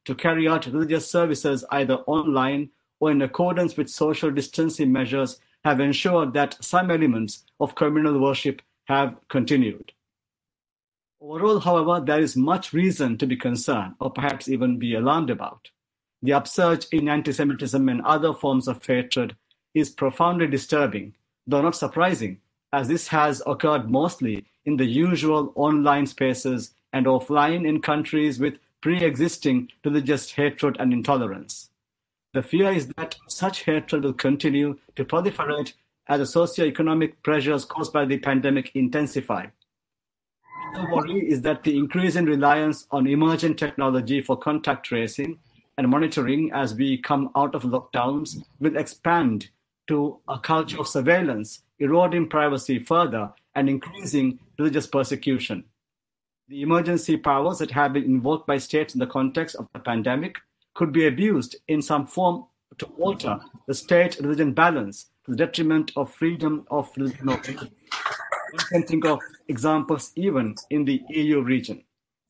to carry out religious services either online or in accordance with social distancing measures have ensured that some elements of communal worship have continued. Overall, however, there is much reason to be concerned or perhaps even be alarmed about. The upsurge in anti-Semitism and other forms of hatred is profoundly disturbing, though not surprising, as this has occurred mostly in the usual online spaces and offline in countries with pre-existing religious hatred and intolerance. The fear is that such hatred will continue to proliferate as the socio-economic pressures caused by the pandemic intensify. The worry is that the increase in reliance on emerging technology for contact tracing and monitoring as we come out of lockdowns will expand to a culture of surveillance, eroding privacy further and increasing religious persecution. The emergency powers that have been invoked by states in the context of the pandemic could be abused in some form to alter the state-religion balance to the detriment of freedom of religion. One can think of examples even in the EU region.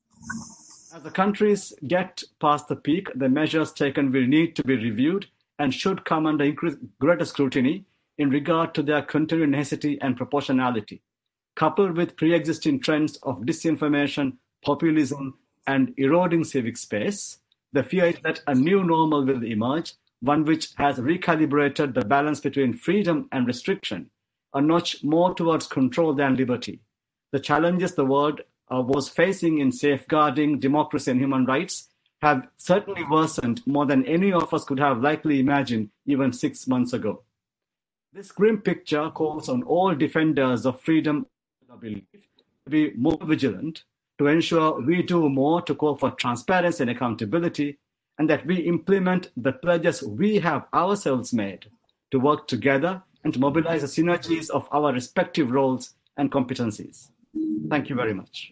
As the countries get past the peak, the measures taken will need to be reviewed and should come under greater scrutiny in regard to their continued necessity and proportionality. Coupled with pre-existing trends of disinformation, populism, and eroding civic space, the fear is that a new normal will emerge, one which has recalibrated the balance between freedom and restriction, a notch more towards control than liberty. The challenges the world was facing in safeguarding democracy and human rights have certainly worsened more than any of us could have likely imagined even 6 months ago. This grim picture calls on all defenders of freedom and belief to be more vigilant, to ensure we do more to call for transparency and accountability, and that we implement the pledges we have ourselves made to work together and to mobilize the synergies of our respective roles and competencies. Thank you very much.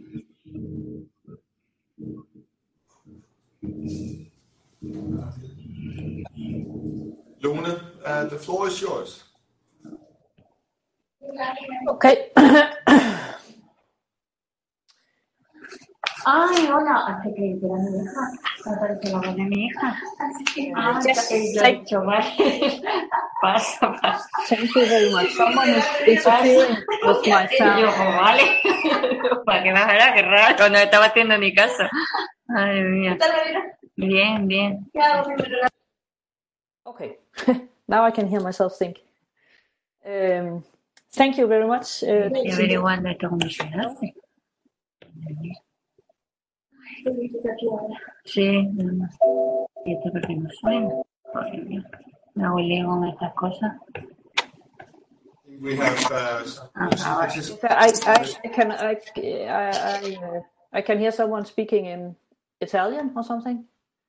Lone, the floor is yours. Okay. Ay, hola, hasta que era mi hija, me parece la voz de mi hija. Pasa. Thank you very much. Someone is interfering with my sound. Yo, vale, para que bajara, qué raro, no estaba haciendo ni caso. Ay, mía. Bien, bien. Okay, now I can hear myself think. Thank you very much. Estoy averiguando esto cómo se hace. Sí, y esto porque no suena. Me hago lío con estas cosas. We have I can hear someone speaking in Italian or something.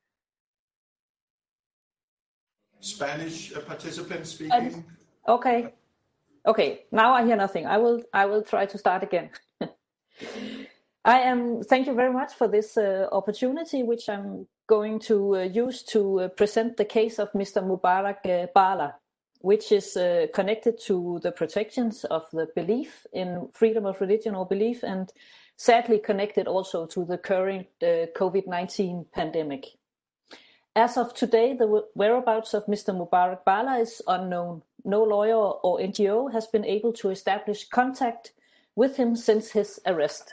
Spanish participants speaking. Okay. Now I hear nothing. I will try to start again. Thank you very much for this opportunity, which I'm going to use to present the case of Mr. Mubarak Bala, which is connected to the protections of the belief in freedom of religion or belief, and sadly connected also to the current COVID-19 pandemic. As of today, the whereabouts of Mr. Mubarak Bala is unknown. No lawyer or NGO has been able to establish contact with him since his arrest.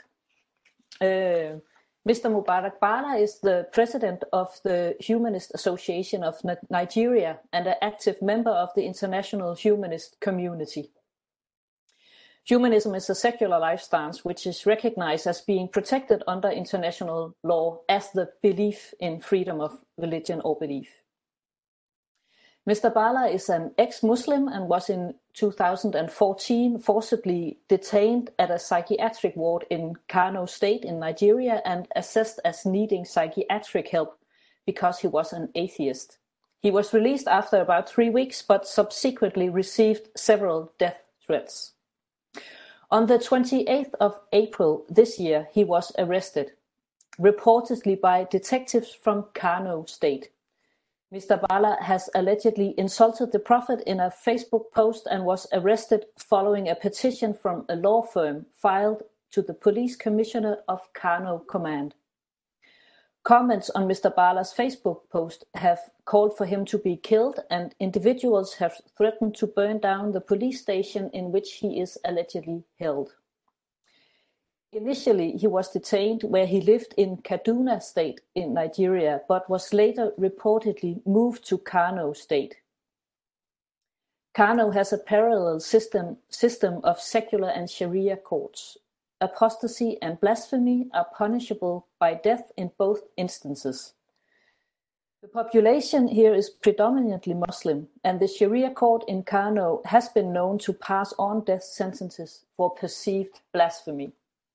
Mr. Mubarak Bala is the president of the Humanist Association of Nigeria and an active member of the international humanist community. Humanism is a secular life stance which is recognized as being protected under international law as the belief in freedom of religion or belief. Mr. Bala is an ex-Muslim and was in 2014 forcibly detained at a psychiatric ward in Kano State in Nigeria and assessed as needing psychiatric help because he was an atheist. He was released after about 3 weeks but subsequently received several death threats. On the 28th of April this year, he was arrested, reportedly by detectives from Kano State. Mr. Bala has allegedly insulted the Prophet in a Facebook post and was arrested following a petition from a law firm filed to the police commissioner of Kano Command. Comments on Mr. Bala's Facebook post have called for him to be killed, and individuals have threatened to burn down the police station in which he is allegedly held. Initially, he was detained where he lived in Kaduna State in Nigeria, but was later reportedly moved to Kano State. Kano has a parallel system of secular and Sharia courts. Apostasy and blasphemy are punishable by death in both instances. The population here is predominantly Muslim, and the Sharia court in Kano has been known to pass on death sentences for perceived blasphemy.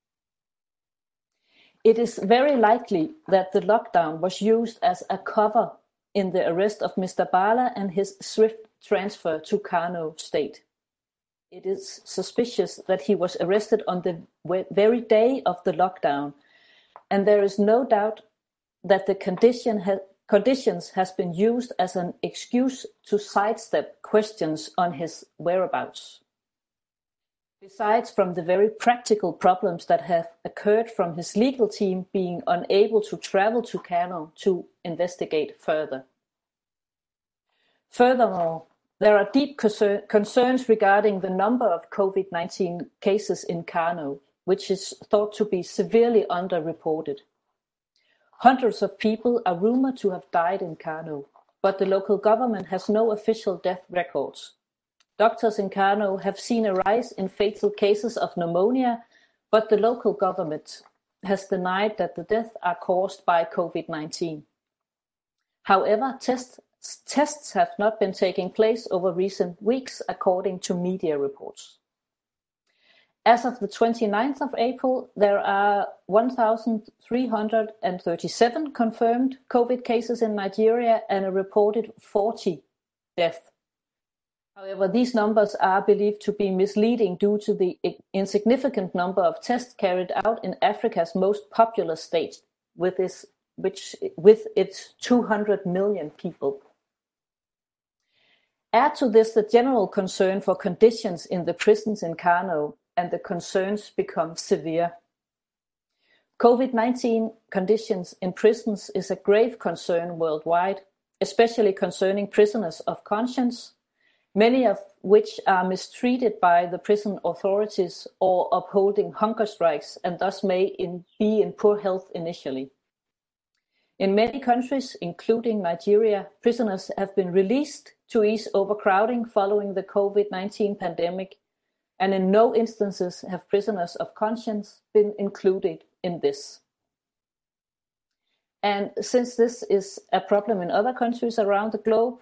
It is very likely that the lockdown was used as a cover in the arrest of Mr. Bala and his swift transfer to Kano State. It is suspicious that he was arrested on the very day of the lockdown, and there is no doubt that the conditions has been used as an excuse to sidestep questions on his whereabouts. Besides from the very practical problems that have occurred from his legal team being unable to travel to Kano to investigate further. Furthermore, there are deep concerns regarding the number of COVID-19 cases in Kano, which is thought to be severely underreported. Hundreds of people are rumored to have died in Kano, but the local government has no official death records. Doctors in Kano have seen a rise in fatal cases of pneumonia, but the local government has denied that the deaths are caused by COVID-19. However, tests have not been taking place over recent weeks, according to media reports. As of the 29th of April, there are 1,337 confirmed COVID cases in Nigeria and a reported 40 deaths. However, these numbers are believed to be misleading due to the insignificant number of tests carried out in Africa's most populous state, with its 200 million people. Add to this the general concern for conditions in the prisons in Kano, and the concerns become severe. COVID-19 conditions in prisons is a grave concern worldwide, especially concerning prisoners of conscience, many of which are mistreated by the prison authorities or upholding hunger strikes and thus may be in poor health initially. In many countries, including Nigeria, prisoners have been released to ease overcrowding following the COVID-19 pandemic, and in no instances have prisoners of conscience been included in this. And since this is a problem in other countries around the globe,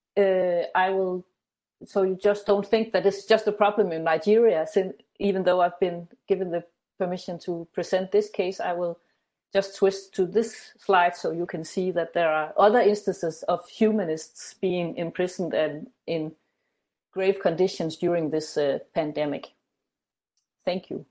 so you just don't think that it's just a problem in Nigeria. Even though I've been given the permission to present this case, I will just twist to this slide so you can see that there are other instances of humanists being imprisoned and in grave conditions during this pandemic. Thank you.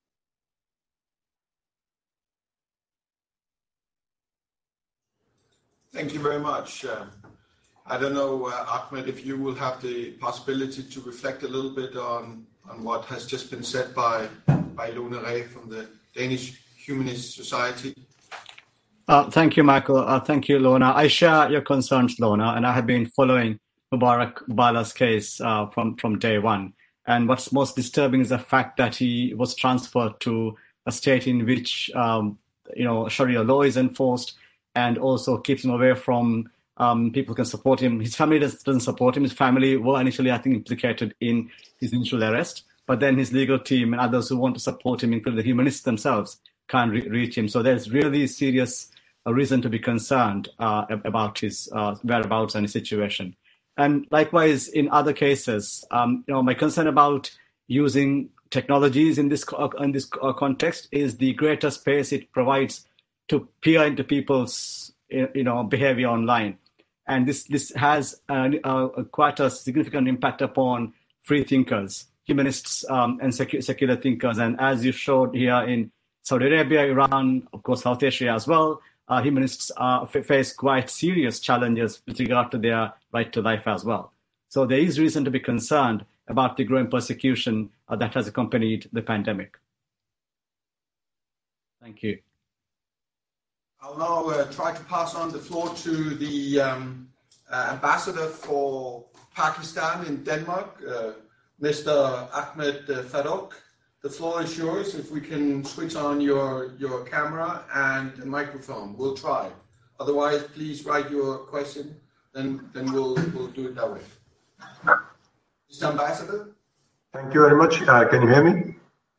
Thank you very much. I don't know, Ahmed, if you will have the possibility to reflect a little bit on what has just been said by Lone Ray from the Danish Humanist Society. Thank you, Michael. Thank you, Lona. I share your concerns, Lona, and I have been following Mubarak Bala's case from day one. And what's most disturbing is the fact that he was transferred to a state in which Sharia law is enforced, and also keeps him away from people can support him. His family doesn't support him. His family were initially, I think, implicated in his initial arrest, but then his legal team and others who want to support him, including the humanists themselves, can't reach him. So there's really serious reason to be concerned about his whereabouts and his situation. And likewise, in other cases, my concern about using technologies in this context is the greater space it provides to peer into people's behavior online. And this has quite a significant impact upon free thinkers, humanists, and secular thinkers. And as you showed here in Saudi Arabia, Iran, of course, South Asia as well, humanists face quite serious challenges with regard to their right to life as well. So there is reason to be concerned about the growing persecution that has accompanied the pandemic. Thank you. I'll now try to pass on the floor to the ambassador for Pakistan in Denmark, Mr. Ahmed Farouk. The floor is yours. If we can switch on your camera and microphone, we'll try. Otherwise, please write your question, then we'll do it that way. Mr. Ambassador? Thank you very much. Can you hear me?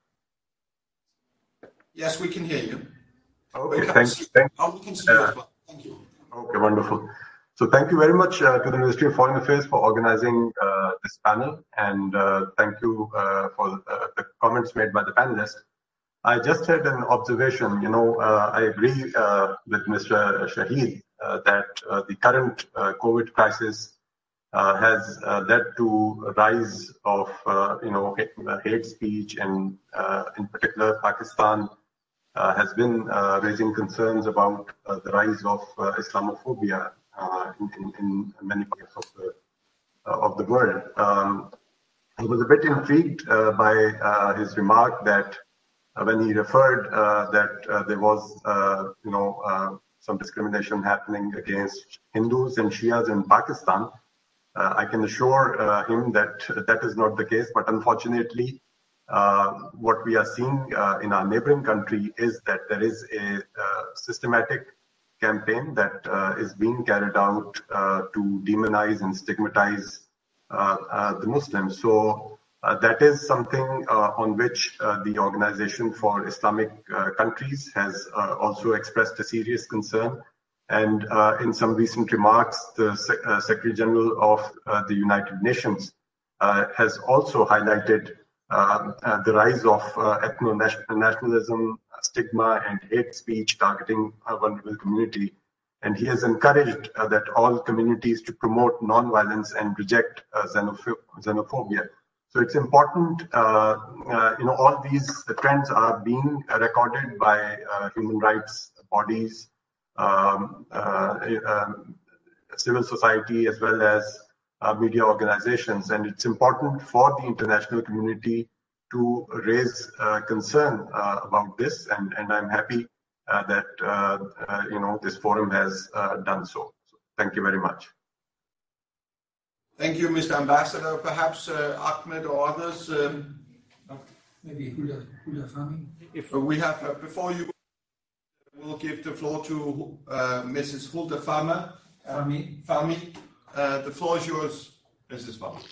Yes, we can hear you. Okay, thank you. We can see you as well. Thank you. Okay, wonderful. So thank you very much to the Ministry of Foreign Affairs for organizing this panel, and thank you for the comments made by the panelists. I just had an observation. I agree with Mr. Shahid that the current COVID crisis has led to a rise of hate speech, and in particular Pakistan has been raising concerns about the rise of Islamophobia in many parts of the world. I was a bit intrigued by his remark that when he referred that there was some discrimination happening against Hindus and Shias in Pakistan. I can assure him that that is not the case, but unfortunately what we are seeing in our neighboring country is that there is a systematic campaign that is being carried out to demonize and stigmatize the Muslims. So that is something on which the Organization for Islamic Countries has also expressed a serious concern. And in some recent remarks, the Secretary General of the United Nations has also highlighted the rise of ethno-nationalism, stigma, and hate speech targeting a vulnerable community. And he has encouraged that all communities to promote non-violence and reject xenophobia. So it's important, all these trends are being recorded by human rights bodies, civil society, as well as media organizations. And it's important for the international community to raise concern about this. And I'm happy that, this forum has done so. Thank you very much. Thank you, Mr. Ambassador. Perhaps Ahmed or others. Maybe Hulda Fahmi. If we have, before you, we'll give the floor to Mrs. Hulda Fahmi. The floor is yours, Mrs. Fahmi.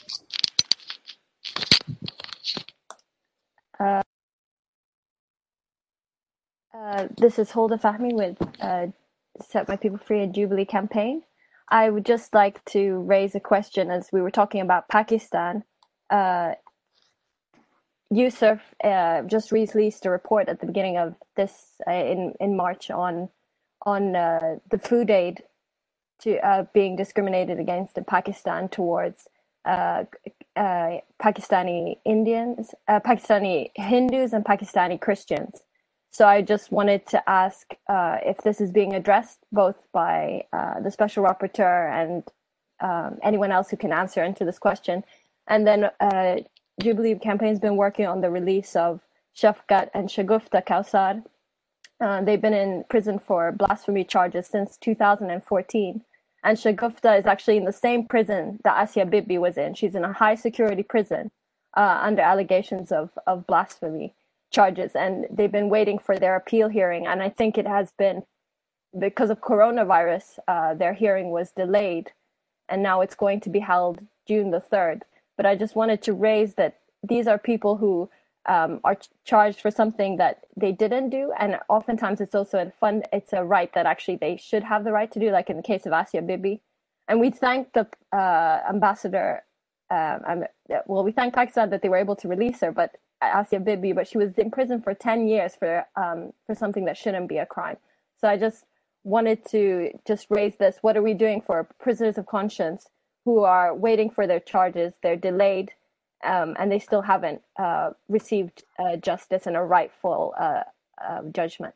This is Hulda Fahmi with Set My People Free and Jubilee campaign. I would just like to raise a question as we were talking about Pakistan. UNICEF just released a report at the beginning of this in March on the food aid to being discriminated against in Pakistan towards Pakistani Indians, Pakistani Hindus, and Pakistani Christians. So I just wanted to ask if this is being addressed both by the Special Rapporteur and anyone else who can answer into this question. And then Jubilee Campaign has been working on the release of Shafqat and Shagufta Kausar. They've been in prison for blasphemy charges since 2014. And Shagufta is actually in the same prison that Asia Bibi was in. She's in a high security prison under allegations of blasphemy charges, and they've been waiting for their appeal hearing. And I think it has been because of coronavirus, their hearing was delayed, and now it's going to be held June the 3rd. But I just wanted to raise that these are people who are charged for something that they didn't do, and oftentimes it's also it's a right that actually they should have the right to do, like in the case of Asia Bibi. And we thank the ambassador. We thank Pakistan that they were able to release her, but Asia Bibi, but she was in prison for 10 years for something that shouldn't be a crime. So I just wanted to just raise this. What are we doing for prisoners of conscience who are waiting for their charges? They're delayed, and they still haven't received justice and a rightful judgment.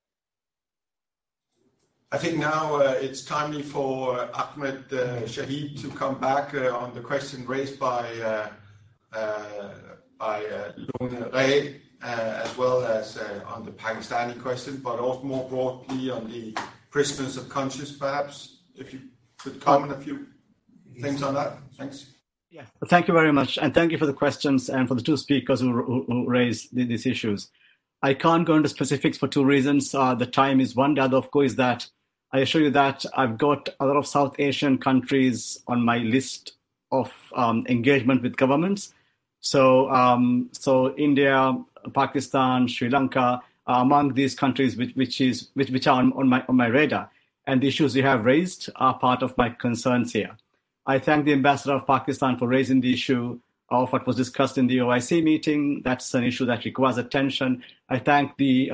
I think now it's timely for Ahmed Shahid to come back on the question raised by Lone Ray as well as on the Pakistani question, but also more broadly on the prisoners of conscience, perhaps, if you could comment a few things on that. Thanks. Yeah, thank you very much. And thank you for the questions and for the two speakers who raised these issues. I can't go into specifics for two reasons. The time is one. The other, of course, is that I assure you that I've got a lot of South Asian countries on my list of engagement with governments. So India, Pakistan, Sri Lanka are among these countries which are on my radar. And the issues you have raised are part of my concerns here. I thank the ambassador of Pakistan for raising the issue of what was discussed in the OIC meeting. That's an issue that requires attention. I thank the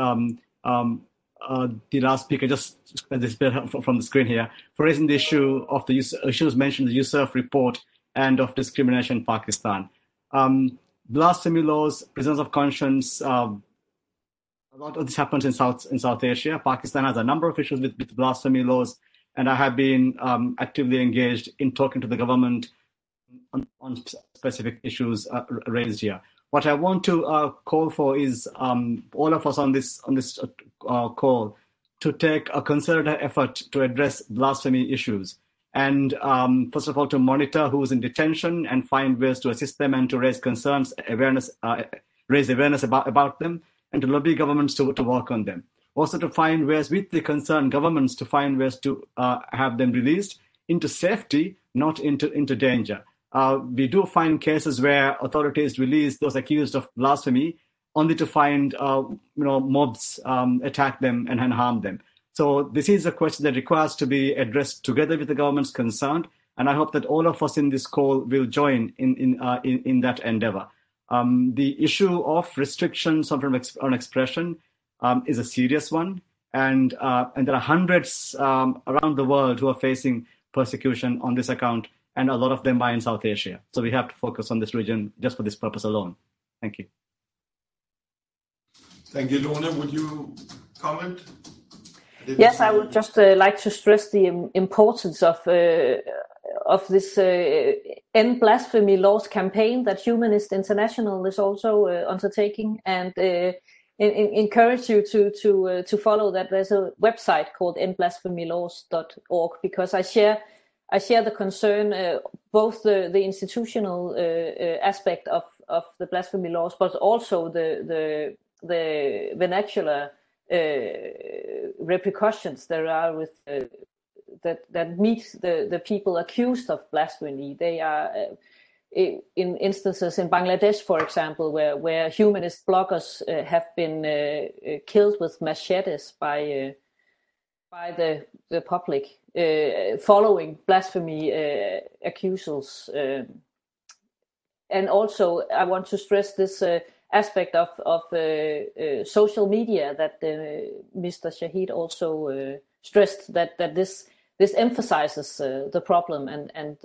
last speaker, just this bit from the screen here, for raising the issue of the issues mentioned in the Yousaf report and of discrimination in Pakistan. Blasphemy laws, prisoners of conscience, a lot of this happens in South Asia. Pakistan has a number of issues with blasphemy laws, and I have been actively engaged in talking to the government on specific issues raised here. What I want to call for is all of us on this call to take a concerted effort to address blasphemy issues. And first of all, to monitor who's in detention and find ways to assist them and to raise concerns, raise awareness about them, and to lobby governments to work on them. Also to find ways with the concerned governments to find ways to have them released into safety, not into danger. We do find cases where authorities release those accused of blasphemy only to find mobs attack them and harm them. So this is a question that requires to be addressed together with the governments concerned, and I hope that all of us in this call will join in that endeavor. The issue of restrictions on expression is a serious one, and there are hundreds around the world who are facing persecution on this account, and a lot of them are in South Asia. So we have to focus on this region just for this purpose alone. Thank you. Thank you, Lone. Would you comment? Yes, I would just like to stress the importance of this End Blasphemy Laws campaign that Humanist International is also undertaking, and encourage you to follow that. There's a website called endblasphemylaws.org, because I share the concern, both the institutional aspect of the blasphemy laws, but also the vernacular repercussions there are with that meet the people accused of blasphemy. They are in instances in Bangladesh, for example, where humanist bloggers have been killed with machetes by the public following blasphemy accusals. And also, I want to stress this aspect of social media that Mr. Shahid also stressed, that this emphasizes the problem, and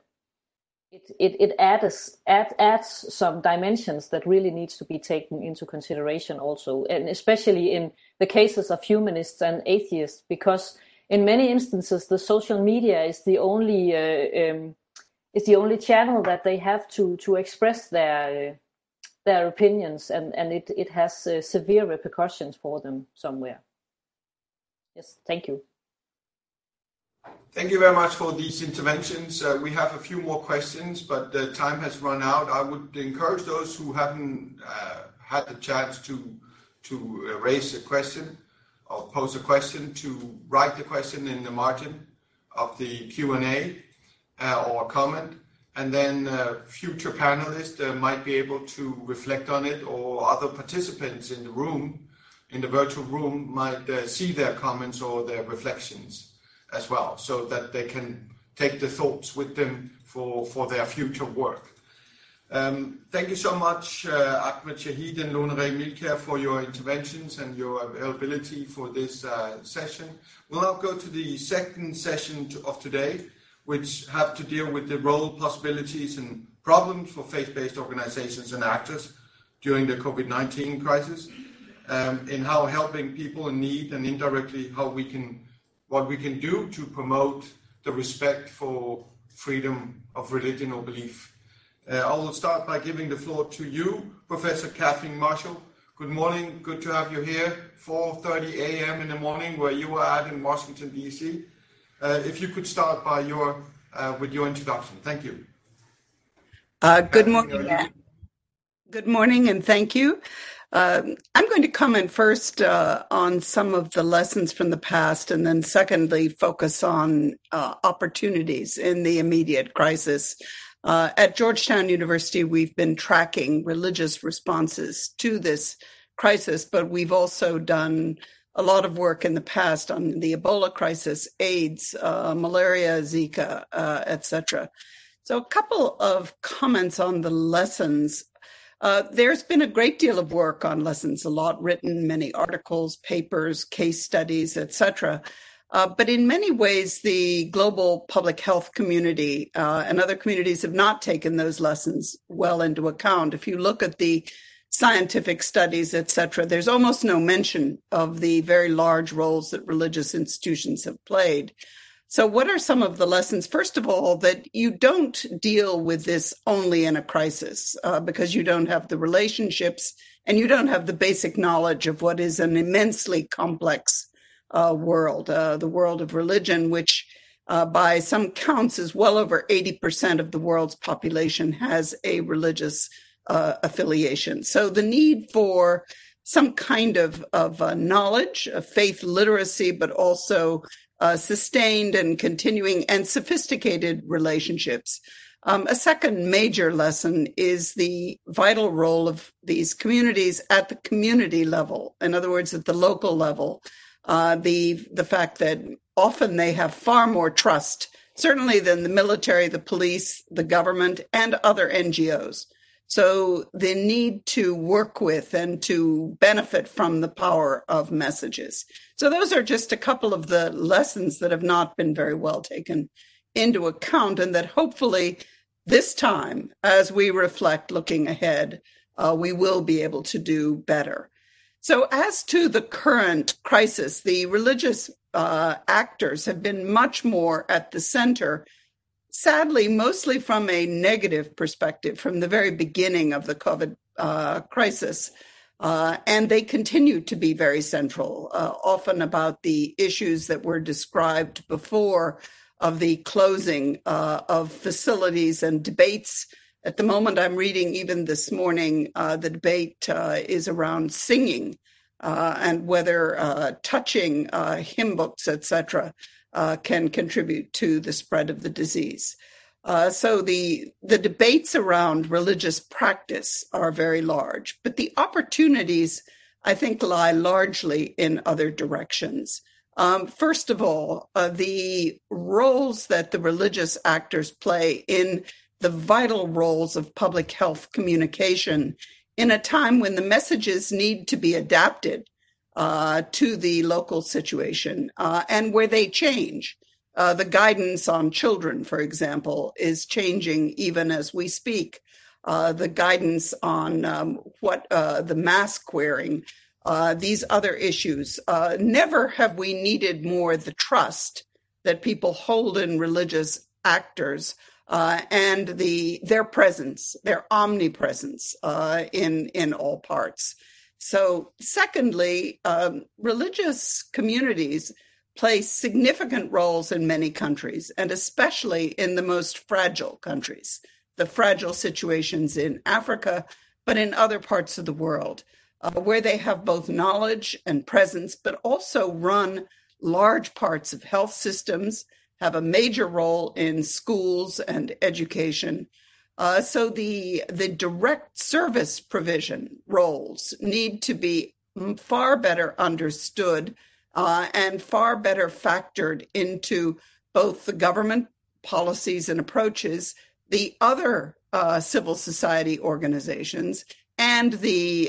it adds some dimensions that really needs to be taken into consideration also, and especially in the cases of humanists and atheists, because in many instances the social media is the only channel that they have to express their opinions, and it has severe repercussions for them somewhere. Yes, thank you. Thank you very much for these interventions. We have a few more questions, but the time has run out. I would encourage those who haven't had the chance to raise a question or pose a question to write the question in the margin of the Q&A or comment, and then future panelists might be able to reflect on it, or other participants in the room, in the virtual room, might see their comments or their reflections as well, so that they can take the thoughts with them for their future work. Thank you so much, Ahmed Shahid and Lone Ray Milkær, for your interventions and your availability for this session. We'll now go to the second session of today, which have to deal with the role, possibilities, and problems for faith-based organizations and actors during the COVID-19 crisis, in how helping people in need, and indirectly what we can do to promote the respect for freedom of religion or belief. I will start by giving the floor to you, Professor Kathleen Marshall, Good morning. Good to have you here. 4:30 a.m. in the morning, where you are at in Washington, D.C. If you could start by with your introduction. Thank you. Good morning. Good morning, and thank you. I'm going to comment first on some of the lessons from the past, and then secondly, focus on opportunities in the immediate crisis. At Georgetown University, we've been tracking religious responses to this crisis, but we've also done a lot of work in the past on the Ebola crisis, AIDS, malaria, Zika, etc. So a couple of comments on the lessons. There's been a great deal of work on lessons, a lot written, many articles, papers, case studies, etc. But in many ways, the global public health community and other communities have not taken those lessons well into account. If you look at the scientific studies, etc., there's almost no mention of the very large roles that religious institutions have played. So what are some of the lessons? First of all, that you don't deal with this only in a crisis because you don't have the relationships and you don't have the basic knowledge of what is an immensely complex world, the world of religion, which by some counts is well over 80% of the world's population has a religious affiliation. So the need for some kind of knowledge, of faith literacy, but also sustained and continuing and sophisticated relationships. A second major lesson is the vital role of these communities at the community level. In other words, at the local level. The fact that often they have far more trust, certainly than the military, the police, the government, and other NGOs. So the need to work with and to benefit from the power of messages. So those are just a couple of the lessons that have not been very well taken into account, and that hopefully this time, as we reflect looking ahead, we will be able to do better. So as to the current crisis, the religious actors have been much more at the center, sadly, mostly from a negative perspective from the very beginning of the COVID crisis. And they continue to be very central, often about the issues that were described before of the closing of facilities and debates. At the moment, I'm reading, even this morning, the debate is around singing and whether touching hymn books, etc., can contribute to the spread of the disease. So the debates around religious practice are very large, but the opportunities, I think, lie largely in other directions. First of all, the roles that the religious actors play in the vital roles of public health communication in a time when the messages need to be adapted to the local situation and where they change. The guidance on children, for example, is changing even as we speak. The guidance on what the mask wearing, these other issues. Never have we needed more the trust that people hold in religious actors and their presence, their omnipresence in all parts. So secondly, religious communities play significant roles in many countries, and especially in the most fragile countries, the fragile situations in Africa, but in other parts of the world, where they have both knowledge and presence, but also run large parts of health systems, have a major role in schools and education. So the direct service provision roles need to be far better understood and far better factored into both the government policies and approaches, the other civil society organizations, and the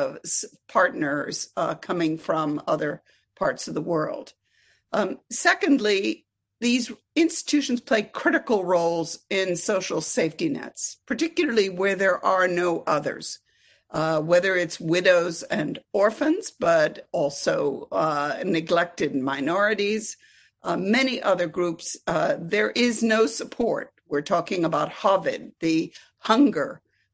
partners coming from other parts of the world. Secondly, these institutions play critical roles in social safety nets, particularly where there are no others, whether it's widows and orphans, but also neglected minorities, many other groups. There is no support. We're talking about HOVID, the hunger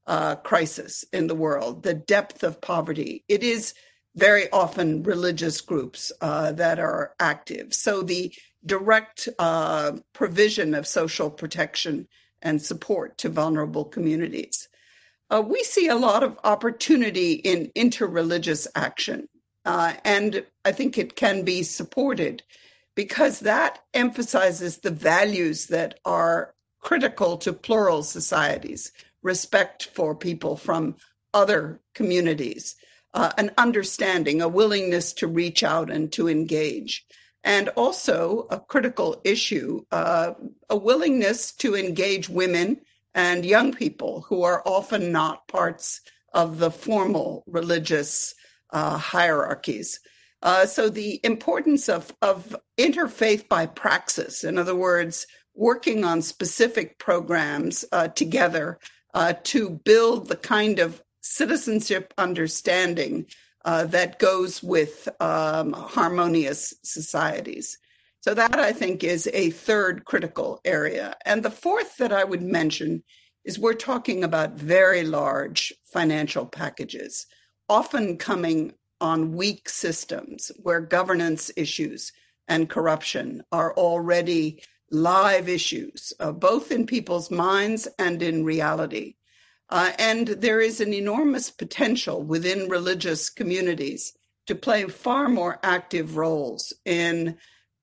crisis in the world, the depth of poverty. It is very often religious groups that are active. So the direct provision of social protection and support to vulnerable communities. We see a lot of opportunity in interreligious action, and I think it can be supported because that emphasizes the values that are critical to plural societies, respect for people from other communities, an understanding, a willingness to reach out and to engage. And also a critical issue, a willingness to engage women and young people who are often not parts of the formal religious hierarchies. So the importance of interfaith by praxis, in other words, working on specific programs together to build the kind of citizenship understanding that goes with harmonious societies. So that, I think, is a third critical area. And the fourth that I would mention is we're talking about very large financial packages, often coming on weak systems where governance issues and corruption are already live issues, both in people's minds and in reality. And there is an enormous potential within religious communities to play far more active roles in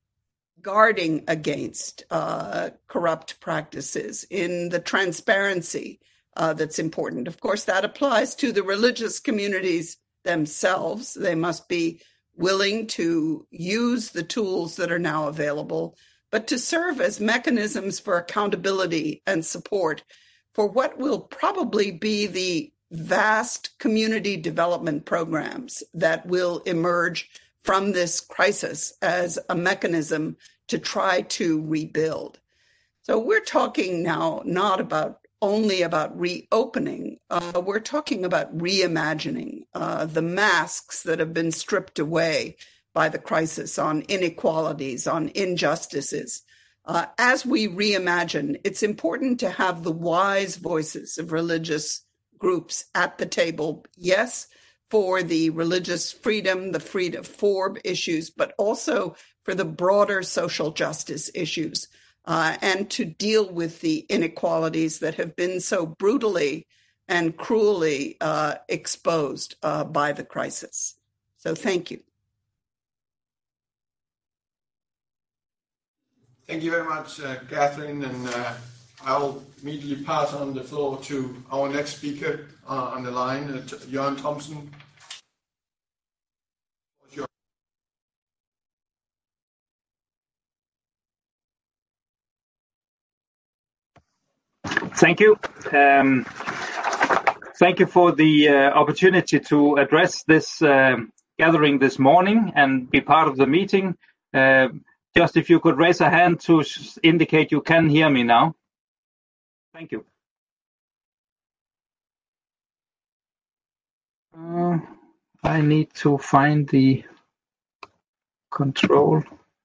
guarding against corrupt practices, in the transparency that's important. Of course, that applies to the religious communities themselves. They must be willing to use the tools that are now available, but to serve as mechanisms for accountability and support for what will probably be the vast community development programs that will emerge from this crisis as a mechanism to try to rebuild. So we're talking now not only about reopening, we're talking about reimagining the masks that have been stripped away by the crisis on inequalities, on injustices. As we reimagine, it's important to have the wise voices of religious groups at the table, yes, for the religious freedom, the freedom for issues, but also for the broader social justice issues, and to deal with the inequalities that have been so brutally and cruelly exposed by the crisis. So thank you. Thank you very much, Catherine, and I'll immediately pass on the floor to our next speaker on the line, Jørgen Thomsen. Thank you. Thank you for the opportunity to address this gathering this morning and be part of the meeting. Just if you could raise a hand to indicate you can hear me now. Thank you. I need to find the control.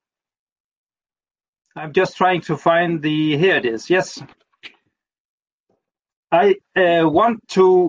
I'm just trying to find here it is, yes. I want to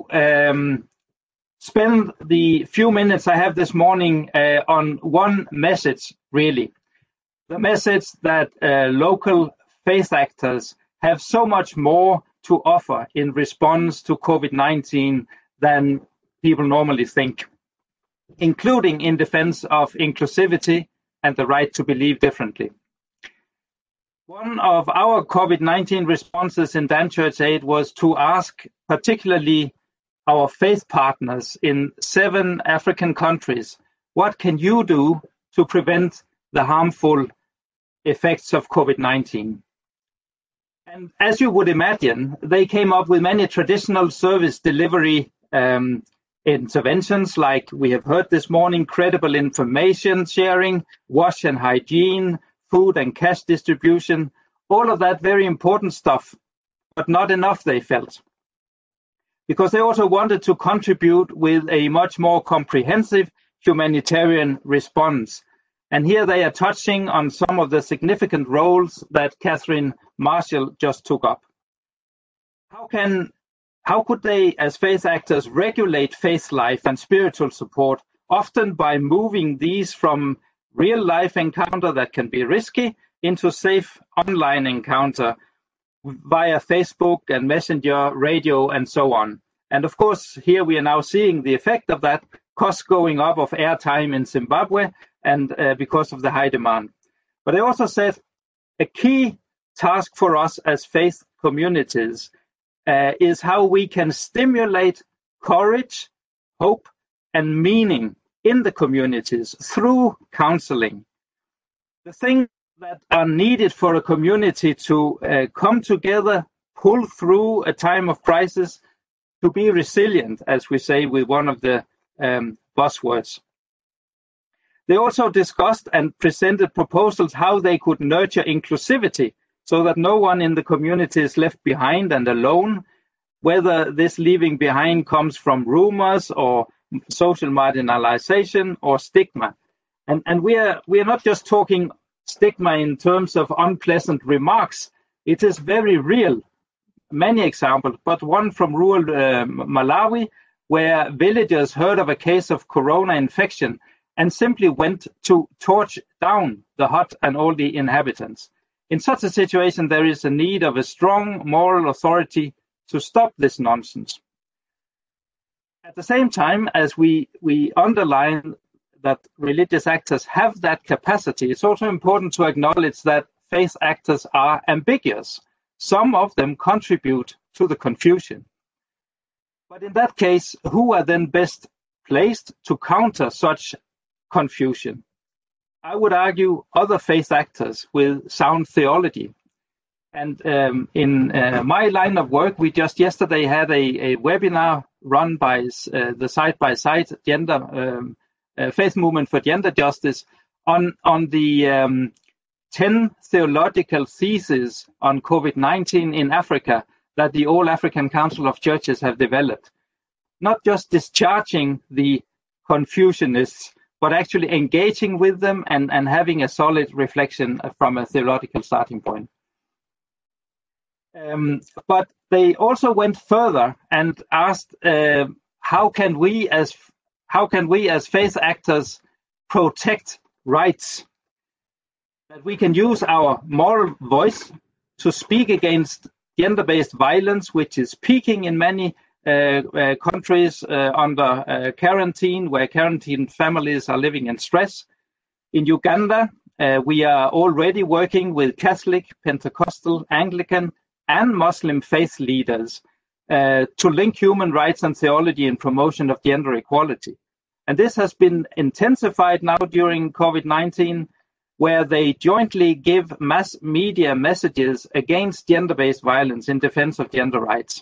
spend the few minutes I have this morning on one message, really. The message that local faith actors have so much more to offer in response to COVID-19 than people normally think, including in defense of inclusivity and the right to believe differently. One of our COVID-19 responses in Dan Church Aid was to ask particularly our faith partners in 7 African countries, what can you do to prevent the harmful effects of COVID-19? And as you would imagine, they came up with many traditional service delivery interventions, like we have heard this morning, credible information sharing, wash and hygiene, food and cash distribution, all of that very important stuff, but not enough, they felt. Because they also wanted to contribute with a much more comprehensive humanitarian response. And here they are touching on some of the significant roles that Catherine Marshall just took up. how could they, as faith actors, regulate faith life and spiritual support, often by moving these from real-life encounter that can be risky into safe online encounter via Facebook and Messenger, radio, and so on. And of course, here we are now seeing the effect of that, costs going up of airtime in Zimbabwe, and because of the high demand. But I also said a key task for us as faith communities is how we can stimulate courage, hope, and meaning in the communities through counseling. The things that are needed for a community to come together, pull through a time of crisis, to be resilient, as we say with one of the buzzwords. They also discussed and presented proposals how they could nurture inclusivity so that no one in the community is left behind and alone, whether this leaving behind comes from rumors or social marginalization or stigma. And we are not just talking stigma in terms of unpleasant remarks. It is very real. Many examples, but one from rural Malawi, where villagers heard of a case of corona infection and simply went to torch down the hut and all the inhabitants. In such a situation, there is a need of a strong moral authority to stop this nonsense. At the same time, as we underline that religious actors have that capacity, it's also important to acknowledge that faith actors are ambiguous. Some of them contribute to the confusion. But in that case, who are then best placed to counter such confusion? I would argue other faith actors with sound theology. And in my line of work, we just yesterday had a webinar run by the Side by Side Gender Faith Movement for Gender Justice on the 10 theological theses on COVID-19 in Africa that the All African Council of Churches have developed. Not just discharging the confusionists, but actually engaging with them and having a solid reflection from a theological starting point. But they also went further and asked, how can we as faith actors protect rights? That we can use our moral voice to speak against gender-based violence, which is peaking in many countries under quarantine, where quarantined families are living in stress. In Uganda, we are already working with Catholic, Pentecostal, Anglican, and Muslim faith leaders to link human rights and theology in promotion of gender equality. And this has been intensified now during COVID-19, where they jointly give mass media messages against gender-based violence in defense of gender rights.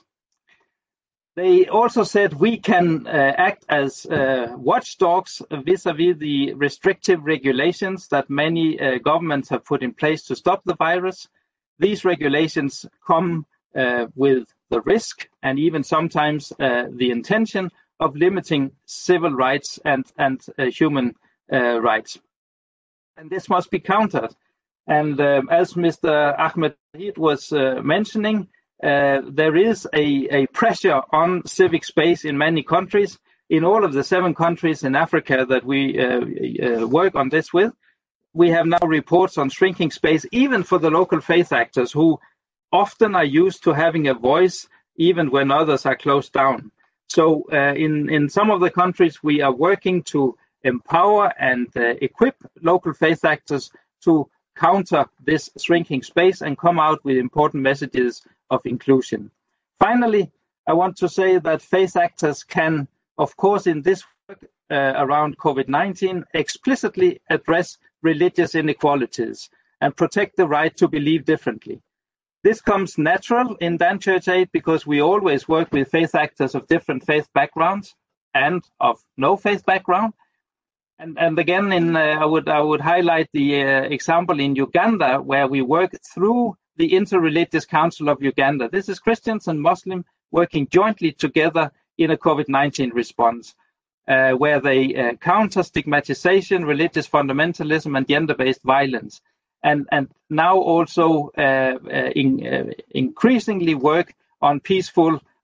They also said we can act as watchdogs vis-à-vis the restrictive regulations that many governments have put in place to stop the virus. These regulations come with the risk and even sometimes the intention of limiting civil rights and human rights. And this must be countered. And as Mr. Ahmed was mentioning, there is a pressure on civic space in many countries. In all of the 7 countries in Africa that we work on this with, we have now reports on shrinking space, even for the local faith actors who often are used to having a voice even when others are closed down. So in some of the countries, we are working to empower and equip local faith actors to counter this shrinking space and come out with important messages of inclusion. Finally, I want to say that faith actors can, of course, in this work around COVID-19, explicitly address religious inequalities and protect the right to believe differently. This comes natural in Dan Church Aid because we always work with faith actors of different faith backgrounds and of no faith background. And again, I would highlight the example in Uganda, where we work through the Interreligious Council of Uganda. This is Christians and Muslims working jointly together in a COVID-19 response, where they counter stigmatization, religious fundamentalism, and gender-based violence. And now also increasingly work on peaceful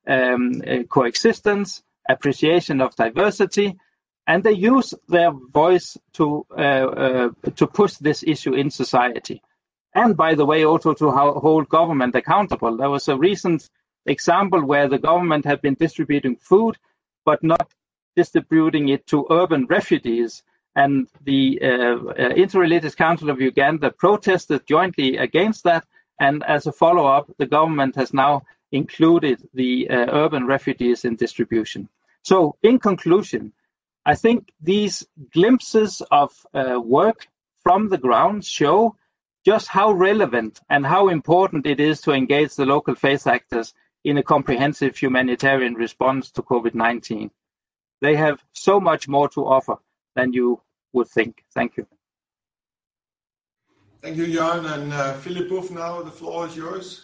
coexistence, appreciation of diversity, and they use their voice to push this issue in society. And by the way, also to hold government accountable. There was a recent example where the government had been distributing food, but not distributing it to urban refugees. And the Interreligious Council of Uganda protested jointly against that. And as a follow-up, the government has now included the urban refugees in distribution. So in conclusion, I think these glimpses of work from the ground show just how relevant and how important it is to engage the local faith actors in a comprehensive humanitarian response to COVID-19. They have so much more to offer than you would think. Thank you. Thank you, Jan. And Philip Boeuf, now the floor is yours.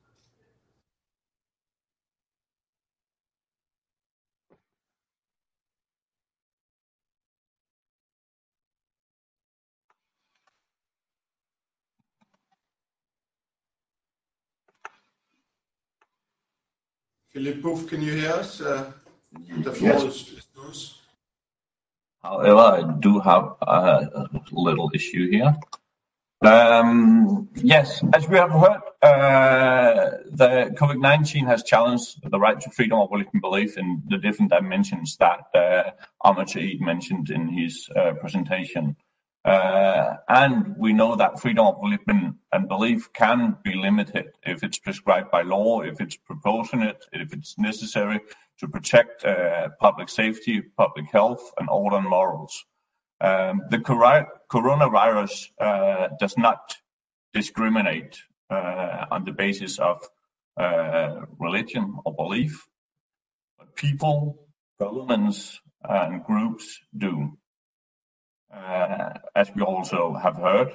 Philip Boeuf, can you hear us? The floor is yours. However, I do have a little issue here. Yes, as we have heard, the COVID-19 has challenged the right to freedom of religion and belief in the different dimensions that Ahmed Saeed mentioned in his presentation. And we know that freedom of religion and belief can be limited if it's prescribed by law, if it's proportionate, if it's necessary to protect public safety, public health, and order and morals. The coronavirus does not discriminate on the basis of religion or belief, but people, governments, and groups do. As we also have heard,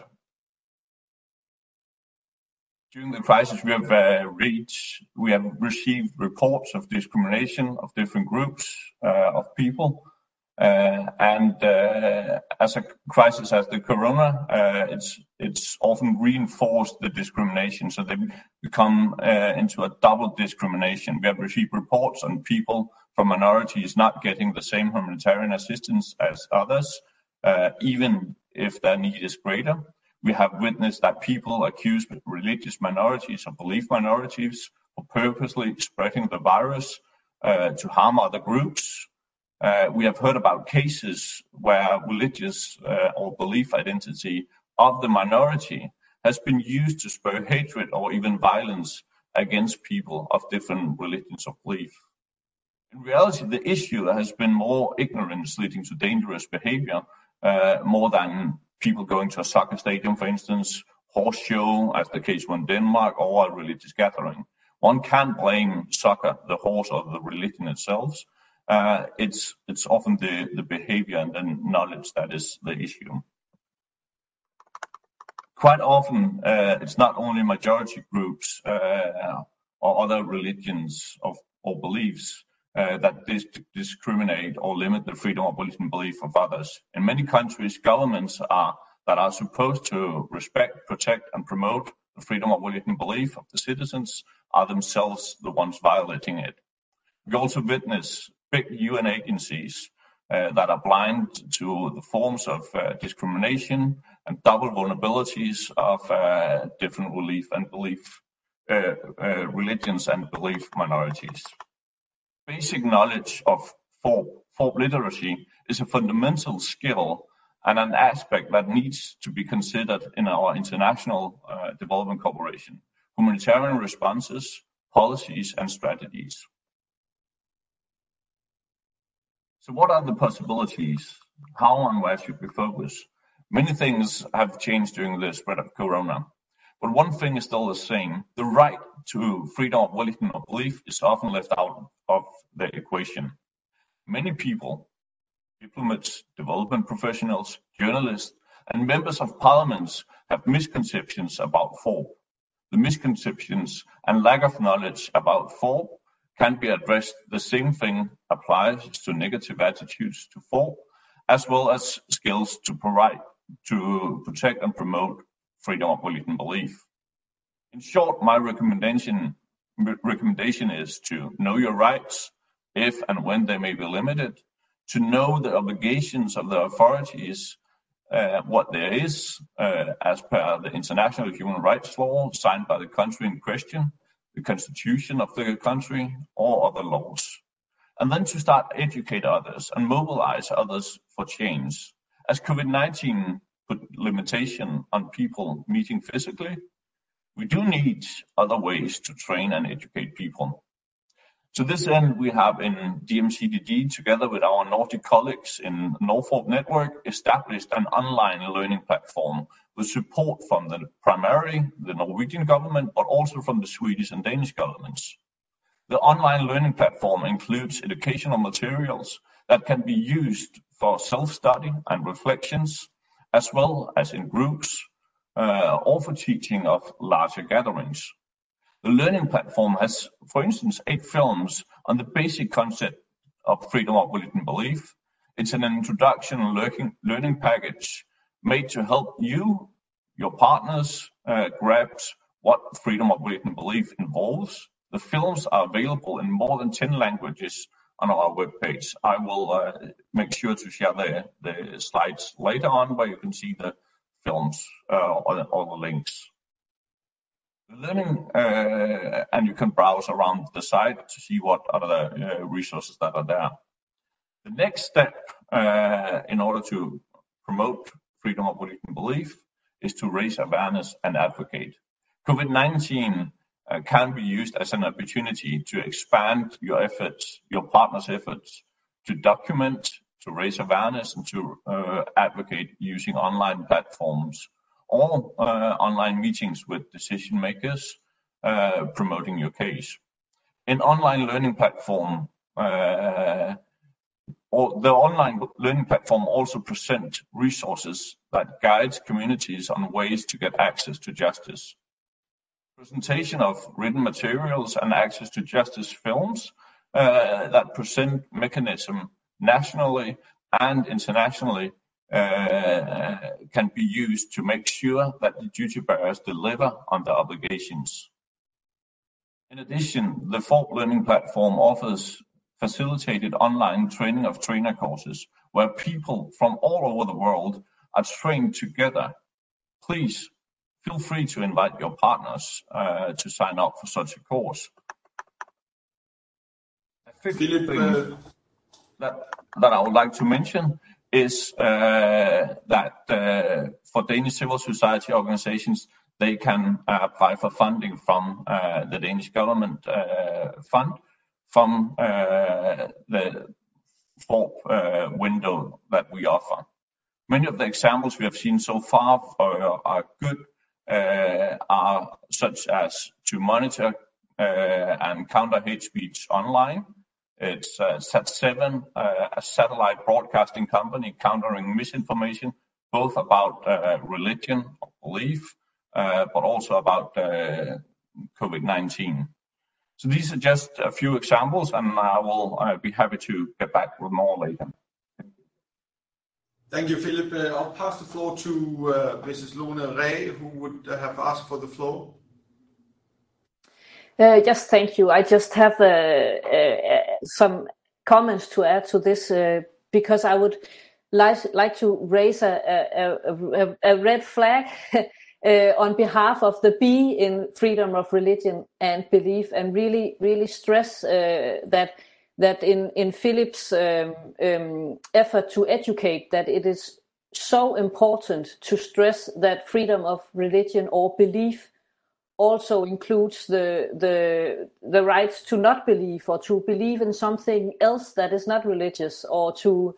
during the crisis we have received reports of discrimination of different groups of people, and as a crisis as the corona, it's often reinforced the discrimination, so they become into a double discrimination. We have received reports on people from minorities not getting the same humanitarian assistance as others, even if their need is greater. We have witnessed that people accuse religious minorities or belief minorities of purposely spreading the virus to harm other groups. We have heard about cases where religious or belief identity of the minority has been used to spur hatred or even violence against people of different religions or belief. In reality, the issue has been more ignorance leading to dangerous behavior, more than people going to a soccer stadium, for instance, horse show, as the case was in Denmark, or a religious gathering. One can't blame soccer, the horse, or the religion itself. It's often the behavior and the knowledge that is the issue. Quite often, it's not only majority groups or other religions or beliefs that discriminate or limit the freedom of religion and belief of others. In many countries, governments that are supposed to respect, protect, and promote the freedom of religion and belief of the citizens are themselves the ones violating it. We also witness big UN agencies that are blind to the forms of discrimination and double vulnerabilities of different religions and belief minorities. Basic knowledge of FoRB literacy is a fundamental skill and an aspect that needs to be considered in our international development cooperation, humanitarian responses, policies, and strategies. So what are the possibilities? How and where should we focus? Many things have changed during the spread of corona, but one thing is still the same. The right to freedom of religion or belief is often left out of the equation. Many people, diplomats, development professionals, journalists, and members of parliaments have misconceptions about FoRB. The misconceptions and lack of knowledge about FoRB can be addressed. The same thing applies to negative attitudes to FoRB, as well as skills to protect and promote freedom of religion and belief. In short, my recommendation recommendation is to know your rights, if and when they may be limited, to know the obligations of the authorities, what there is as per the international human rights law signed by the country in question, the constitution of the country, or other laws. And then to start educate others and mobilize others for change. As COVID-19 put limitation on people meeting physically, we do need other ways to train and educate people. To this end, we have in DMCDD, together with our Nordic colleagues in Norfolk Network, established an online learning platform with support from primarily the Norwegian government, but also from the Swedish and Danish governments. The online learning platform includes educational materials that can be used for self-study and reflections, as well as in groups, or for teaching of larger gatherings. The learning platform has, for instance, 8 films on the basic concept of freedom of religion belief. It's an introduction learning package made to help you, your partners, grasp what freedom of religion belief involves. The films are available in more than 10 languages on our webpage. I will make sure to share the slides later on where you can see the films or the links. The learning, and you can browse around the site to see what other resources that are there. The next step in order to promote freedom of religion belief is to raise awareness and advocate. COVID-19 can be used as an opportunity to expand your efforts, your partners' efforts, to document, to raise awareness, and to advocate using online platforms or online meetings with decision makers promoting your case. In online learning platform, the online learning platform also presents resources that guides communities on ways to get access to justice. Presentation of written materials and access to justice films that present mechanism nationally and internationally can be used to make sure that the duty bearers deliver on their obligations. In addition, the Fork Learning Platform offers facilitated online training of trainer courses where people from all over the world are trained together. Please feel free to invite your partners to sign up for such a course. A fifth thing that I would like to mention is that for Danish civil society organizations, they can apply for funding from the Danish government fund from the Fork window that we offer. Many of the examples we have seen so far are good, are such as to monitor and counter hate speech online. It's Sat7, a satellite broadcasting company countering misinformation, both about religion or belief, but also about COVID-19. So these are just a few examples, and I will be happy to get back with more later. Thank you, Philip. I'll pass the floor to Mrs. Lone Ray, who would have asked for the floor. Yes, thank you. I just have some comments to add to this because I would like to raise a red flag on behalf of the B in freedom of religion and belief, and really stress that in Philip's effort to educate, that it is so important to stress that freedom of religion or belief also includes the rights to not believe or to believe in something else that is not religious, or to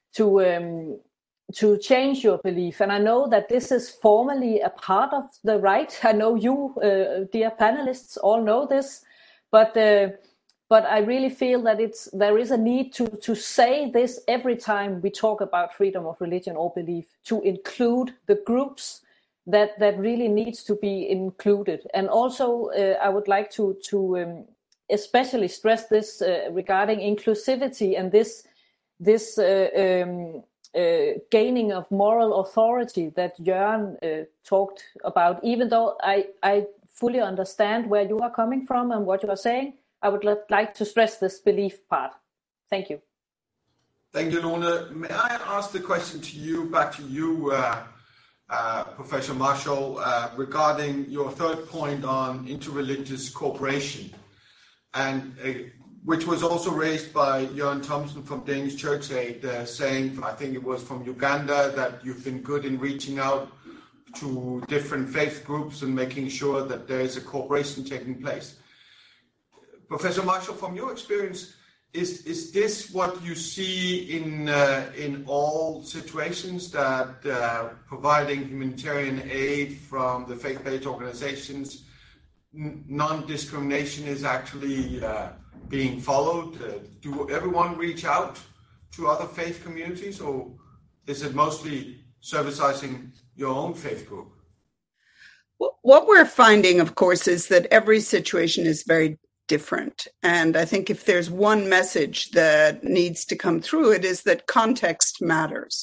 change your belief. And I know that this is formally a part of the right. I know you, dear panelists, all know this, but I really feel that there is a need to say this every time we talk about freedom of religion or belief, to include the groups that really needs to be included. And also I would like to especially stress this regarding inclusivity and this gaining of moral authority that Jørgen talked about. Even though I fully understand where you are coming from and what you are saying, I would like to stress this belief part. Thank you. Thank you, Lone. May I ask the question to you, back to you, Professor Marshall, regarding your third point on interreligious cooperation, and which was also raised by Jørgen Thomsen from Danish Church Aid, saying, I think it was from Uganda, that you've been good in reaching out to different faith groups and making sure that there is a cooperation taking place. Professor Marshall, from your experience, is this what you see in all situations, that providing humanitarian aid from the faith-based organizations, non-discrimination is actually being followed? Do everyone reach out to other faith communities, or is it mostly servicizing your own faith group? What we're finding, of course, is that every situation is very different. And I think if there's one message that needs to come through, it is that context matters.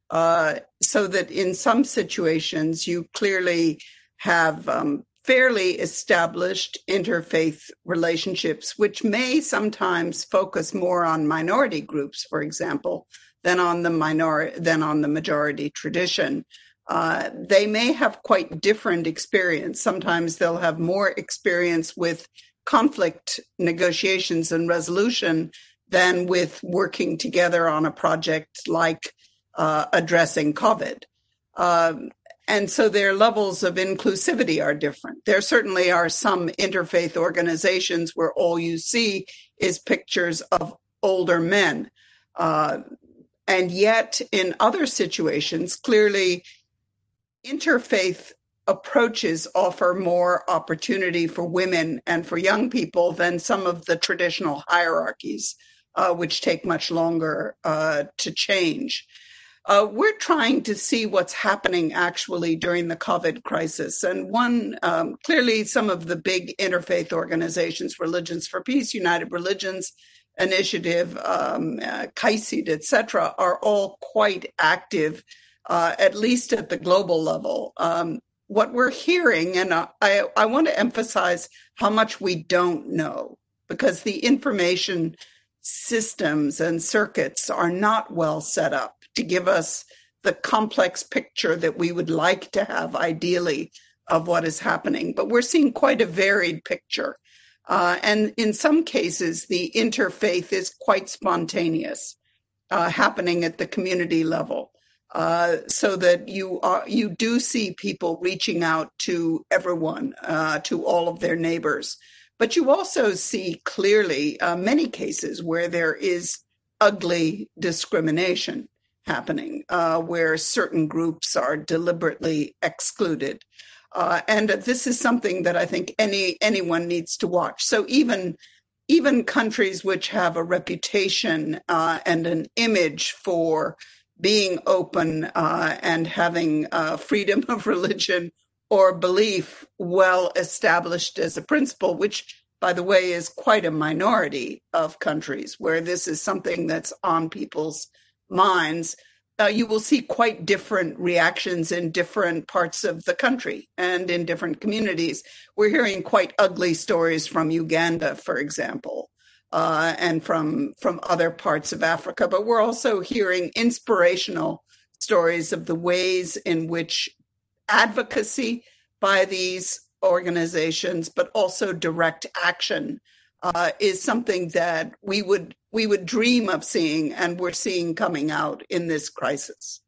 So that in some situations, you clearly have fairly established interfaith relationships, which may sometimes focus more on minority groups, for example, than on the majority tradition. They may have quite different experience. Sometimes they'll have more experience with conflict negotiations and resolution than with working together on a project like addressing COVID. And so their levels of inclusivity are different. There certainly are some interfaith organizations where all you see is pictures of older men. And yet in other situations, clearly interfaith approaches offer more opportunity for women and for young people than some of the traditional hierarchies, which take much longer to change. We're trying to see what's happening actually during the COVID crisis. And clearly some of the big interfaith organizations, Religions for Peace, United Religions Initiative, CAICID, etc., are all quite active, at least at the global level. What we're hearing, and I want to emphasize how much we don't know, because the information systems and circuits are not well set up to give us the complex picture that we would like to have, ideally, of what is happening. But we're seeing quite a varied picture. And in some cases, the interfaith is quite spontaneous, happening at the community level. So that you do see people reaching out to everyone, to all of their neighbors. But you also see clearly many cases where there is ugly discrimination happening, where certain groups are deliberately excluded. And this is something that I think anyone needs to watch. So even countries which have a reputation and an image for being open and having freedom of religion or belief well established as a principle, which, by the way, is quite a minority of countries where this is something that's on people's minds, you will see quite different reactions in different parts of the country and in different communities. We're hearing quite ugly stories from Uganda, for example, and from other parts of Africa. But we're also hearing inspirational stories of the ways in which advocacy by these organizations, but also direct action, is something that we would dream of seeing, and we're seeing coming out in this crisis.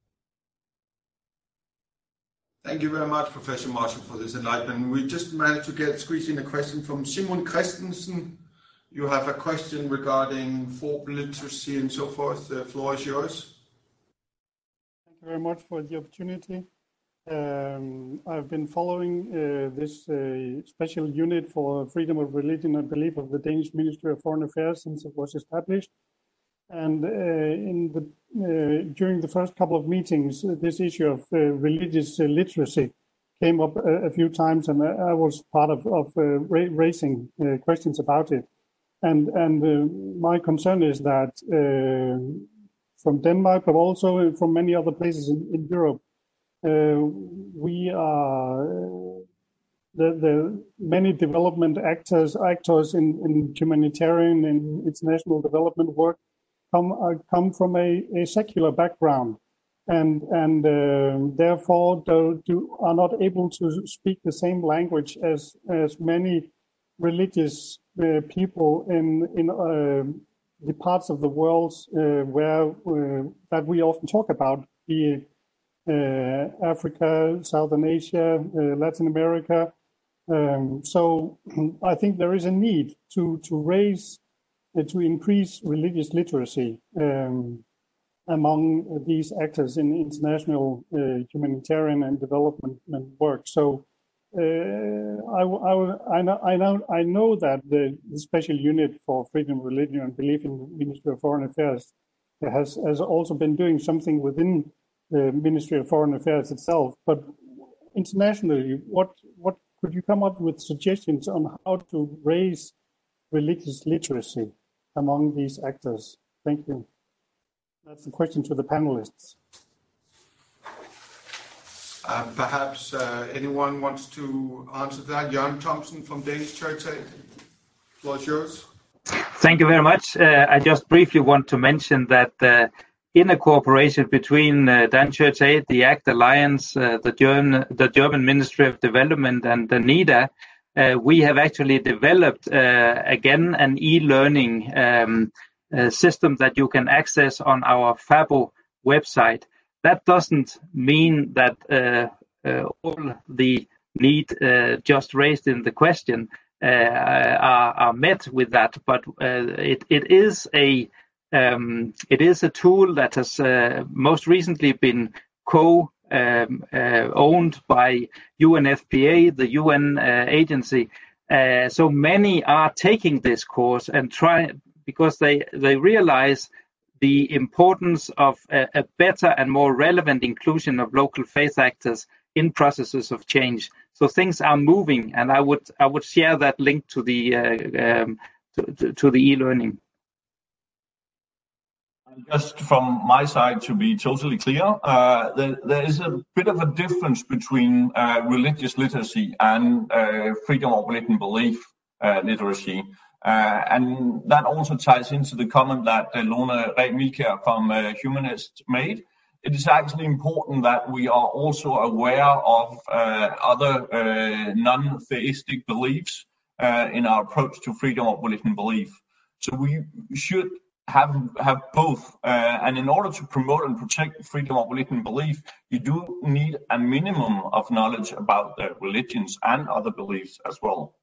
Thank you very much, Professor Marshall, for this enlightenment. We just managed to squeeze in a question from Simon Christensen. You have a question regarding folk literacy and so forth. The floor is yours. Thank you very much for the opportunity. I've been following this special unit for freedom of religion and belief of the Danish Ministry of Foreign Affairs since it was established. And during the first couple of meetings, this issue of religious literacy came up a few times, and I was part of raising questions about it. And my concern is that from Denmark, but also from many other places in Europe, we are the many development actors in humanitarian and international development work come from a secular background, and therefore are not able to speak the same language as many religious people in the parts of the world where that we often talk about, be it Africa, Southern Asia, Latin America. So I think there is a need to raise, to increase religious literacy among these actors in international humanitarian and development work. So I know that the Special Unit for Freedom of Religion and Belief in the Ministry of Foreign Affairs has also been doing something within the Ministry of Foreign Affairs itself. But internationally, what could you come up with suggestions on how to raise religious literacy among these actors? Thank you. That's the question to the panelists. Perhaps anyone wants to answer that? Jørgen Thomsen from Danish Church Aid. The floor is yours. Thank you very much. I just briefly want to mention that in a cooperation between Danish Church Aid, the ACT Alliance, the German Ministry of Development, and the NIDA, we have actually developed again an e-learning system that you can access on our FABO website. That doesn't mean that all the need just raised in the question are met with that, but it is a tool that has most recently been owned by UNFPA, the UN agency. So many are taking this course and because they realize the importance of a better and more relevant inclusion of local faith actors in processes of change. So things are moving, and I would share that link to the e-learning. Just from my side, to be totally clear, there is a bit of a difference between religious literacy and freedom of religion belief literacy. And that also ties into the comment that Lone Ree from Humanist made. It is actually important that we are also aware of other non-theistic beliefs in our approach to freedom of religion belief. So we should have both. And in order to promote and protect freedom of religion belief, you do need a minimum of knowledge about the religions and other beliefs as well.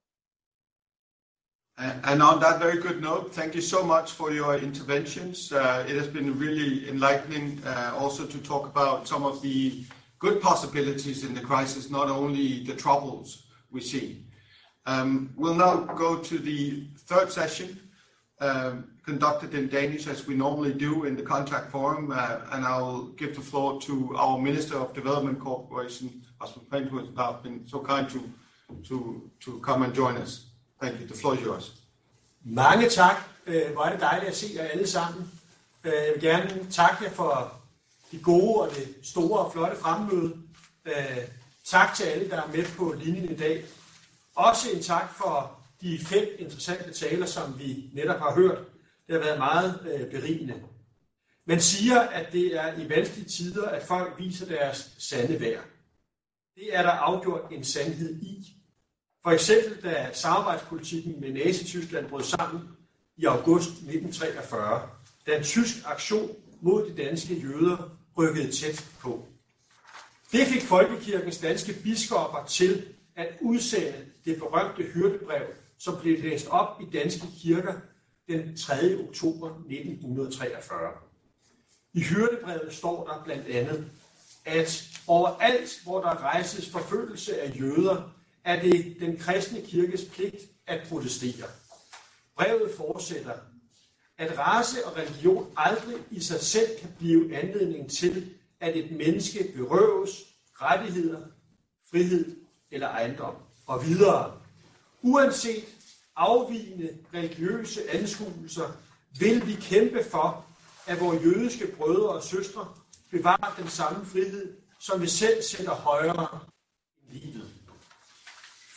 And on that very good note, thank you so much for your interventions. It has been really enlightening also to talk about some of the good possibilities in the crisis, not only the troubles we see. We'll now go to the third session, conducted in Danish as we normally do in the Contact Forum, and I'll give the floor to our Minister of Development Cooperation, Rasmus Prehn, who has now been so kind to come and join us. Thank you. The floor is yours. Mange tak. Hvor er det dejligt at se jer alle sammen. Jeg vil gerne takke jer for de gode og det store og flotte fremmøde. Tak til alle, der er med på linjen i dag. Også en tak for de 5 interessante taler, som vi netop har hørt. Det har været meget berigende. Man siger, at det er i vanskelige tider, at folk viser deres sande værd. Det er der afgjort en sandhed i. For eksempel da samarbejdspolitikken med Nazi-Tyskland brød sammen i august 1943, da en tysk aktion mod de danske jøder rykkede tæt på. Det fik Folkekirkens danske biskopper til at udsende det berømte hyrdebrev, som blev læst op i danske kirker den 3. oktober 1943. I hyrdebrevet står der blandt andet, at overalt, hvor der rejses forfølgelse af jøder, er det den kristne kirkes pligt at protestere. Brevet fortsætter, at race og religion aldrig i sig selv kan blive anledning til, at et menneske berøves rettigheder, frihed eller ejendom. Og videre, uanset afvigende religiøse anskuelser, vil vi kæmpe for, at vores jødiske brødre og søstre bevarer den samme frihed, som vi selv sætter højere end livet.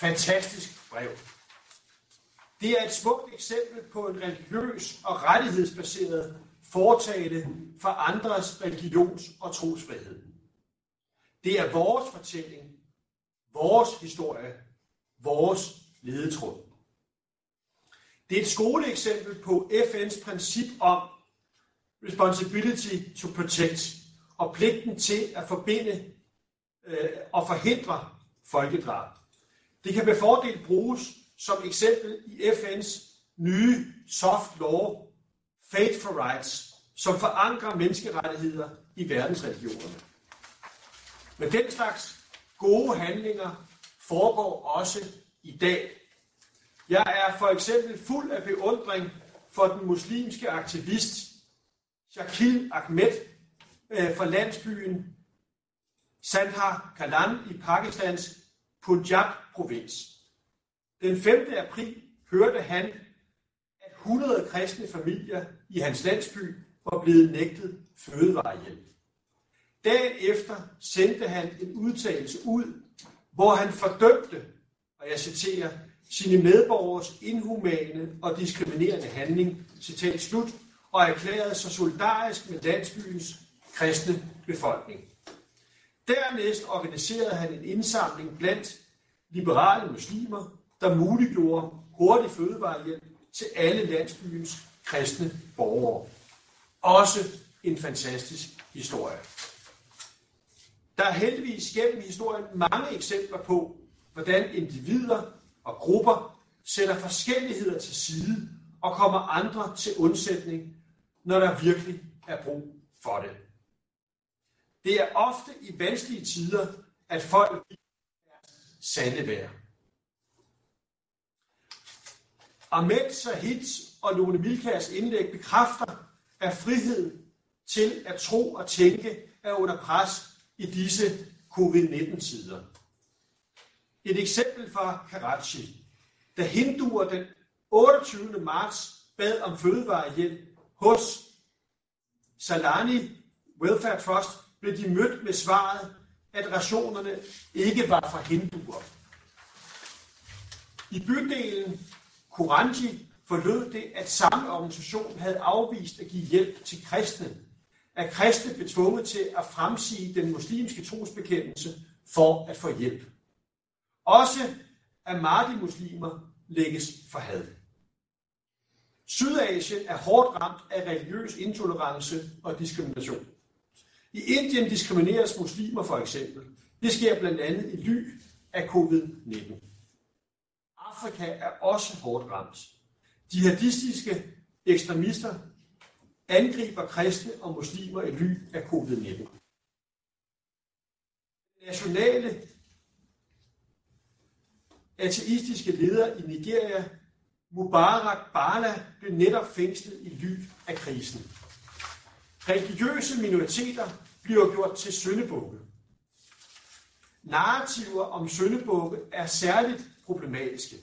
fantastisk brev. Det er et smukt eksempel på en religiøs og rettighedsbaseret foretagende for andres religions- og trosfrihed. Det er vores fortælling, vores historie, vores ledetråd. Det er et skoleeksempel på FN's princip om responsibility to protect og pligten til at forbinde og forhindre folkedrab. Det kan med fordel bruges som eksempel i FN's nye soft law, Faith for Rights, som forankrer menneskerettigheder i verdensreligionerne. Men den slags gode handlinger foregår også i dag. Jeg er for eksempel fuld af beundring for den muslimske aktivist Shakil Ahmed fra landsbyen Sandhar Kalan i Pakistans Punjab-provins. Den 5. april hørte han, at 100 kristne familier i hans landsby var blevet nægtet fødevarehjælp. Dagen efter sendte han en udtalelse ud, hvor han fordømte, og jeg citerer, sine medborgers inhumane og diskriminerende handling, citat slut, og erklærede sig solidarisk med landsbyens kristne befolkning. Dernæst organiserede han en indsamling blandt liberale muslimer, der muliggjorde hurtig fødevarehjælp til alle landsbyens kristne borgere. Også en fantastisk historie. Der er heldigvis gennem historien mange eksempler på, hvordan individer og grupper sætter forskelligheder til side og kommer andre til undsætning, når der virkelig er brug for det. Det er ofte i vanskelige tider, at folk er sande værd. Ahmed Sahids og Lone Milkærs indlæg bekræfter, at friheden til at tro og tænke er under pres i disse covid-19-tider. Et eksempel fra Karachi, da hinduer den 28. marts bad om fødevarehjælp hos Salani Welfare Trust, blev de mødt med svaret, at rationerne ikke var for hinduer. I bydelen Kuranji forlød det, at samme organisation havde afvist at give hjælp til kristne, at kristne blev tvunget til at fremsige den muslimske trosbekendelse for at få hjælp. Også Ahmadi-muslimer lægges for had. Sydasien er hårdt ramt af religiøs intolerance og diskrimination. I Indien diskrimineres muslimer for eksempel. Det sker blandt andet i ly af covid-19. Afrika er også hårdt ramt. Jihadistiske ekstremister angriber kristne og muslimer i ly af covid-19. Nationale ateistiske leder i Nigeria, Mubarak Bala, blev netop fængslet i ly af krisen. Religiøse minoriteter bliver gjort til syndebukke. Narrativer om syndebukke er særligt problematiske.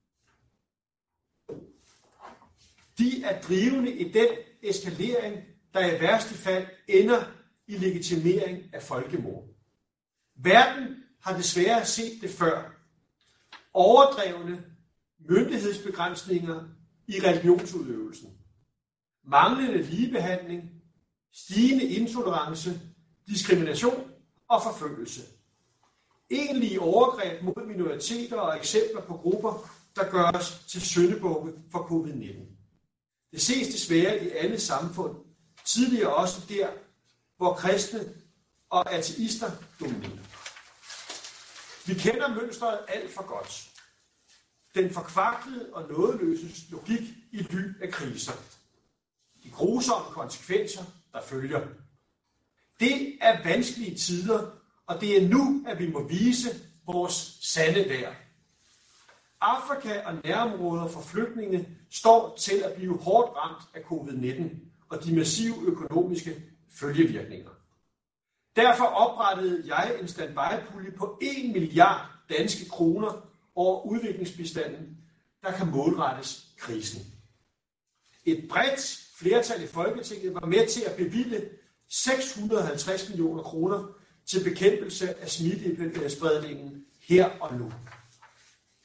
De er drivende i den eskalering, der i værste fald ender i legitimering af folkemord. Verden har desværre set det før. Overdrevne myndighedsbegrænsninger i religionsudøvelsen. Manglende ligebehandling, stigende intolerance, diskrimination og forfølgelse. Egentlige overgreb mod minoriteter og eksempler på grupper, der gøres til syndebukke for covid-19. Det ses desværre i alle samfund, tidligere også der, hvor kristne og ateister dominerer. Vi kender mønstret alt for godt. Den forkvaklede og nådeløses logik i ly af kriser. De grusomme konsekvenser, der følger. Det er vanskelige tider, og det er nu, at vi må vise vores sande værd. Afrika og nærområder for flygtninge står til at blive hårdt ramt af covid-19 og de massive økonomiske følgevirkninger. Derfor oprettede jeg en standby-pulje på 1 milliard danske kroner over udviklingsbistanden, der kan målrettes krisen. Et bredt flertal i Folketinget var med til at bevilge 650 millioner kroner til bekæmpelse af smittespredningen her og nu.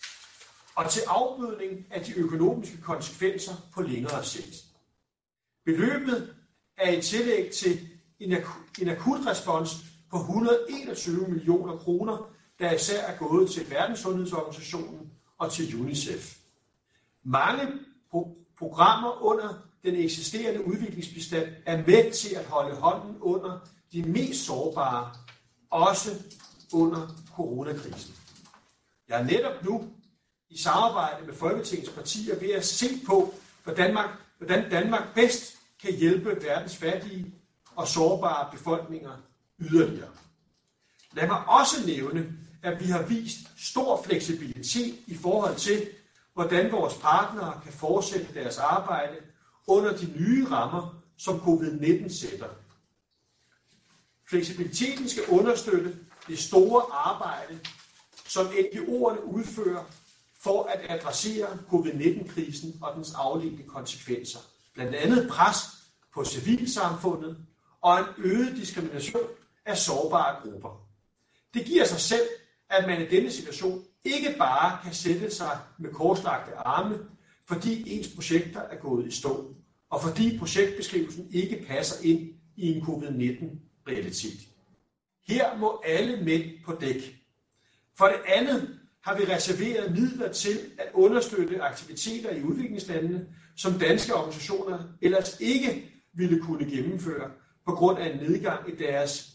og til afbødning af de økonomiske konsekvenser på længere sigt. Beløbet er i tillæg til en akutrespons på 121 millioner kroner, der især er gået til Verdenssundhedsorganisationen og til UNICEF. Mange programmer under den eksisterende udviklingsbistand er med til at holde hånden under de mest sårbare, også under coronakrisen. Jeg er netop nu i samarbejde med Folketingets partier ved at se på, hvordan Danmark bedst kan hjælpe verdens fattige og sårbare befolkninger yderligere. Lad mig også nævne, at vi har vist stor fleksibilitet i forhold til, hvordan vores partnere kan fortsætte deres arbejde under de nye rammer, som COVID-19 sætter. Fleksibiliteten skal understøtte det store arbejde, som NGO'erne udfører for at adressere COVID-19-krisen og dens afledte konsekvenser. Blandt andet pres på civilsamfundet og en øget diskrimination af sårbare grupper. Det giver sig selv, at man i denne situation ikke bare kan sætte sig med korslagte arme, fordi ens projekter er gået i stå, og fordi projektbeskrivelsen ikke passer ind i en COVID-19-realitet. Her må alle mænd på dæk. For det andet har vi reserveret midler til at understøtte aktiviteter i udviklingslandene, som danske organisationer ellers ikke ville kunne gennemføre på grund af en nedgang i deres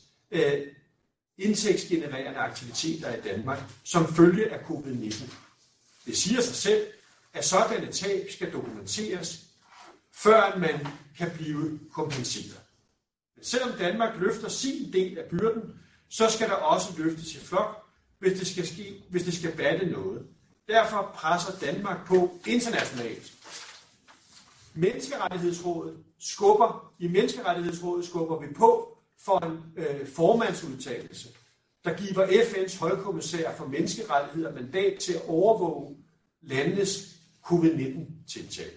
indtægtsgenererende aktiviteter i Danmark som følge af COVID-19. Det siger sig selv, at sådanne tab skal dokumenteres, før man kan blive kompenseret. Men selvom Danmark løfter sin del af byrden, så skal der også løftes i flok, hvis det skal batte noget. Derfor presser Danmark på internationalt. I Menneskerettighedsrådet skubber vi på for en formandsudtalelse, der giver FN's højkommissær for menneskerettigheder mandat til at overvåge landenes COVID-19-tiltag.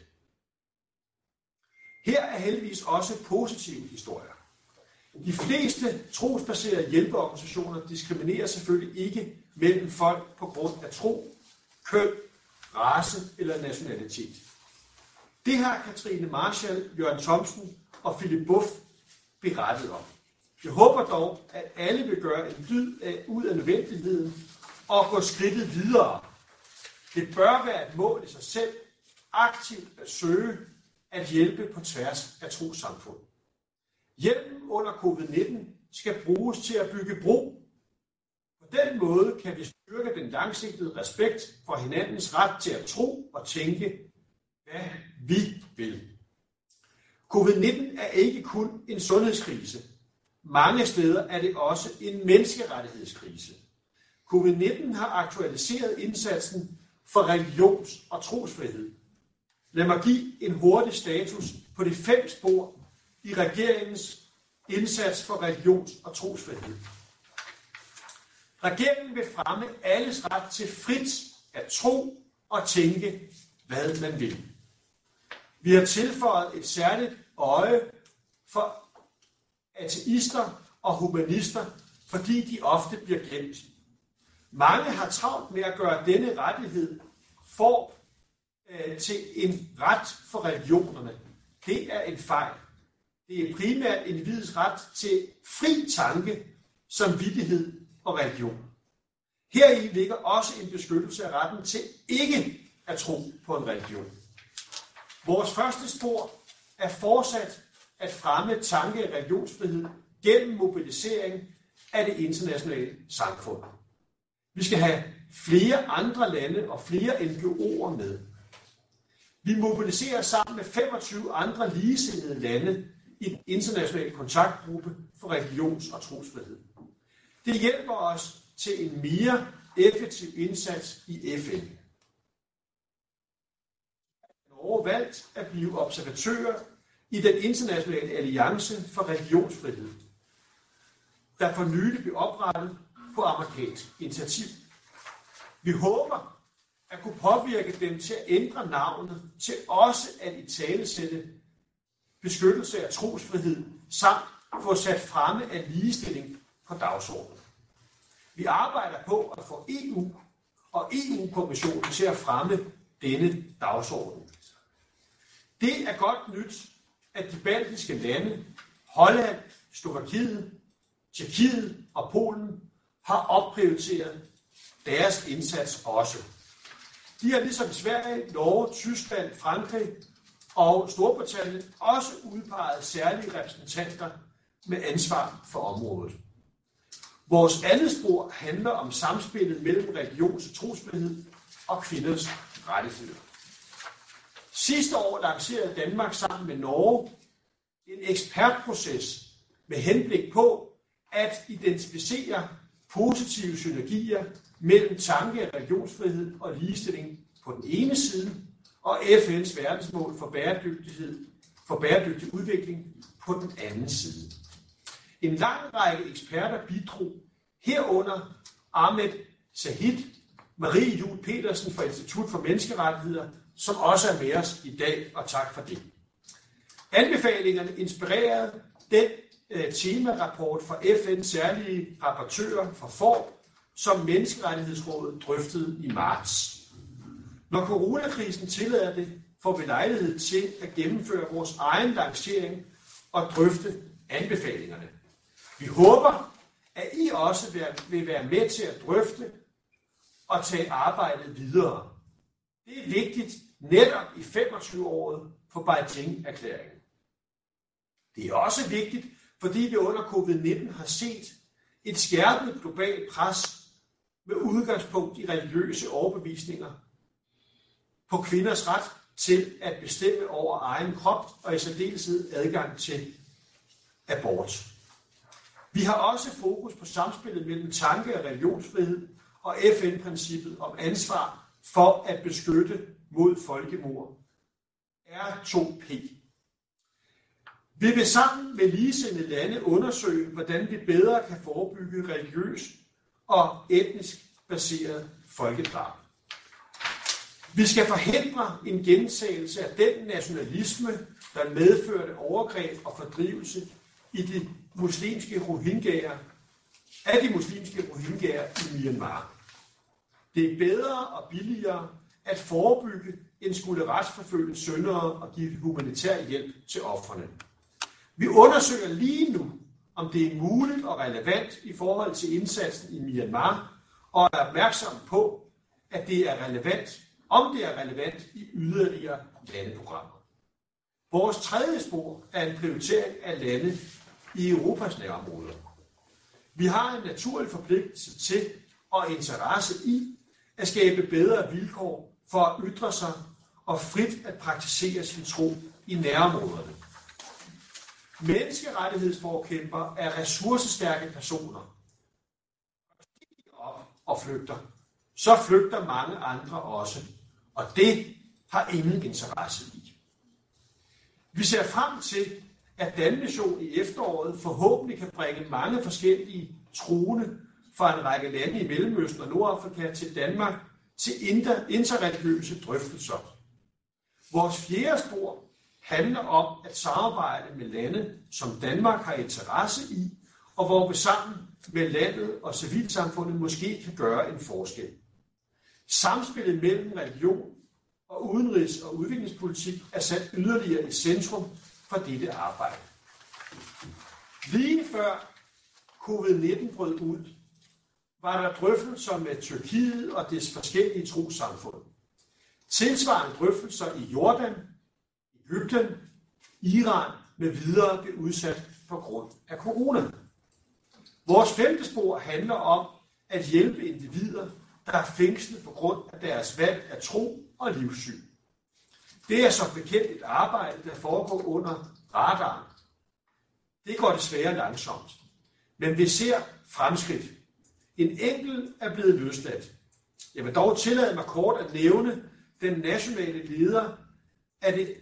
Her er heldigvis også positive historier. De fleste trosbaserede hjælpeorganisationer diskriminerer selvfølgelig ikke mellem folk på grund af tro, køn, race eller nationalitet. Det har Katrine Marshall, Jørgen Thomsen og Philip Buff berettet om. Jeg håber dog, at alle vil gøre en dyd ud af nødvendigheden og gå skridtet videre. Det bør være et mål i sig selv, aktivt at søge at hjælpe på tværs af trossamfund. Hjælpen under COVID-19 skal bruges til at bygge bro. På den måde kan vi styrke den langsigtede respekt for hinandens ret til at tro og tænke, hvad vi vil. COVID-19 er ikke kun en sundhedskrise. Mange steder er det også en menneskerettighedskrise. COVID-19 har aktualiseret indsatsen for religions- og trosfrihed. Lad mig give en hurtig status på de 5 spor i regeringens indsats for religions- og trosfrihed. Regeringen vil fremme alles ret til frit at tro og tænke, hvad man vil. Vi har tilføjet et særligt øje for ateister og humanister, fordi de ofte bliver glemt. Mange har travlt med at gøre denne rettighed til en ret for religionerne. Det er en fejl. Det er primært individets ret til fri tanke, samvittighed og religion. Heri ligger også en beskyttelse af retten til ikke at tro på en religion. Vores første spor er fortsat at fremme tanke- og religionsfrihed gennem mobilisering af det internationale samfund. Vi skal have flere andre lande og flere NGO'er med. Vi mobiliserer sammen med 25 andre ligesindede lande i den internationale kontaktgruppe for religions- og trosfrihed. Det hjælper os til en mere effektiv indsats i FN. Norge valgt at blive observatører i den internationale alliance for religionsfrihed, der for nylig blev oprettet på amerikansk initiativ. Vi håber at kunne påvirke dem til at ændre navnet til også at italesætte beskyttelse af trosfrihed samt få sat fremme af ligestilling på dagsordenen. Vi arbejder på at få EU og EU-kommissionen til at fremme denne dagsorden. Det er godt nyt, at de baltiske lande, Holland, Slovakiet, Tjekkiet og Polen har opprioriteret deres indsats også. De har ligesom Sverige, Norge, Tyskland, Frankrig og Storbritannien også udpeget særlige repræsentanter med ansvar for området. Vores andet spor handler om samspillet mellem religions- og trosfrihed og kvinders rettigheder. Sidste år lancerede Danmark sammen med Norge en ekspertproces med henblik på at identificere positive synergier mellem tanke- og religionsfrihed og ligestilling på den ene side, og FN's verdensmål for bæredygtig udvikling på den anden side. En lang række eksperter bidrog, herunder Ahmed Sahid, Marie Juel Petersen fra Institut for Menneskerettigheder, som også er med os i dag, og tak for det. Anbefalingerne inspirerede den temarapport fra FN's særlige rapportører for FORB, som Menneskerettighedsrådet drøftede i marts. Når coronakrisen tillader det, får vi lejlighed til at gennemføre vores egen lancering og drøfte anbefalingerne. Vi håber, at I også vil være med til at drøfte og tage arbejdet videre. Det er vigtigt netop i 25-året for Beijing-erklæringen. Det er også vigtigt, fordi vi under covid-19 har set et skærpet globalt pres med udgangspunkt i religiøse overbevisninger på kvinders ret til at bestemme over egen krop og i særdeleshed adgang til abort. Vi har også fokus på samspillet mellem tanke- og religionsfrihed og FN-princippet om ansvar for at beskytte mod folkemord. R2P. Vi vil sammen med ligesindede lande undersøge, hvordan vi bedre kan forebygge religiøs og etnisk baseret folkedrab. Vi skal forhindre en gentagelse af den nationalisme, der medførte overgreb og fordrivelse i de muslimske rohingyaer i Myanmar. Det er bedre og billigere at forebygge end skulle retsforfølge syndere og give humanitær hjælp til ofrene. Vi undersøger lige nu, om det er muligt og relevant i forhold til indsatsen i Myanmar, og er opmærksom på, at det er relevant, om det er relevant i yderligere landeprogrammer. Vores tredje spor er en prioritering af lande i Europas nærområder. Vi har en naturlig forpligtelse til og interesse i at skabe bedre vilkår for at ytre sig og frit at praktisere sin tro i nærområderne. Menneskerettighedsforkæmpere er ressourcestærke personer. Når de giver op og flygter, så flygter mange andre også, og det har ingen interesse i. Vi ser frem til, at Danmission i efteråret forhåbentlig kan bringe mange forskellige troende fra en række lande i Mellemøsten og Nordafrika til Danmark til interreligiøse drøftelser. Vores fjerde spor handler om at samarbejde med lande, som Danmark har interesse i, og hvor vi sammen med landet og civilsamfundet måske kan gøre en forskel. Samspillet mellem religion og udenrigs- og udviklingspolitik er sat yderligere i centrum for dette arbejde. Lige før covid-19 brød ud, var der drøftelser med Tyrkiet og dets forskellige trossamfund. Tilsvarende drøftelser i Jordan, Egypten, Iran med videre blev udsat på grund af corona. Vores femte spor handler om at hjælpe individer, der er fængslet på grund af deres valg af tro og livssyn. Det er som bekendt et arbejde, der foregår under radaren. Det går desværre langsomt, men vi ser fremskridt. En enkelt er blevet løsladt. Jeg vil dog tillade mig kort at nævne den nationale leder af den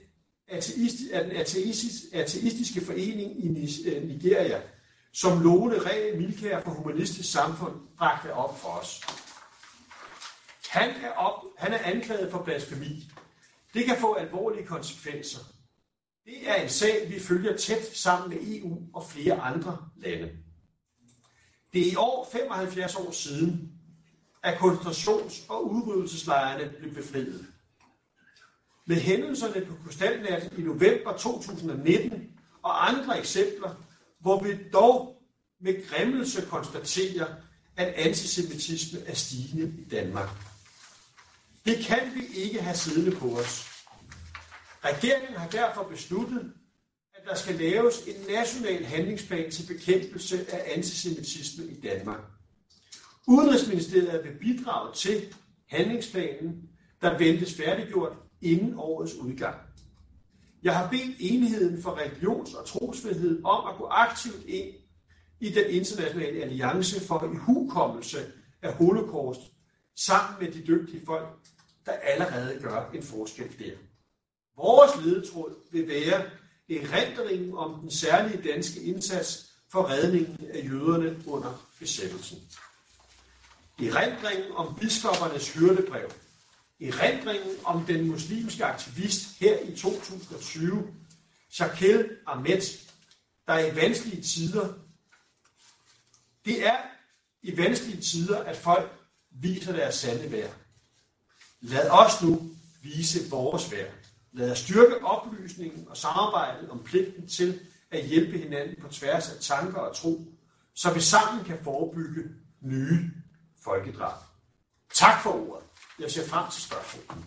ateistiske forening i Nigeria, som Lone Ræ Milkær for Humanistisk Samfund bragte op for os. Han er anklaget for blasfemi. Det kan få alvorlige konsekvenser. Det er en sag, vi følger tæt sammen med EU og flere andre lande. Det er i år 75 år siden, at koncentrations- og udryddelseslejrene blev befriet. Med hændelserne på krystalnatten i november 2019 og andre eksempler, hvor vi dog med græmmelse konstaterer, at antisemitisme er stigende i Danmark. Det kan vi ikke have siddende på os. Regeringen har derfor besluttet, at der skal laves en national handlingsplan til bekæmpelse af antisemitisme i Danmark. Udenrigsministeriet vil bidrage til handlingsplanen, der ventes færdiggjort inden årets udgang. Jeg har bedt Enheden for Religions- og Trosfrihed om at gå aktivt ind i den internationale alliance for ihukommelse af holocaust sammen med de dygtige folk, der allerede gør en forskel der. Vores ledetråd vil være erindringen om den særlige danske indsats for redningen af jøderne under besættelsen. Erindringen om biskoppernes hyrdebrev. Erindringen om den muslimske aktivist her i 2020, Shakil Ahmed, der i vanskelige tider. Det er i vanskelige tider, at folk viser deres sande værd. Lad os nu vise vores værd. Lad os styrke oplysningen og samarbejdet om pligten til at hjælpe hinanden på tværs af tanker og tro, så vi sammen kan forebygge nye folkedrab. Tak for ordet. Jeg ser frem til spørgsmål.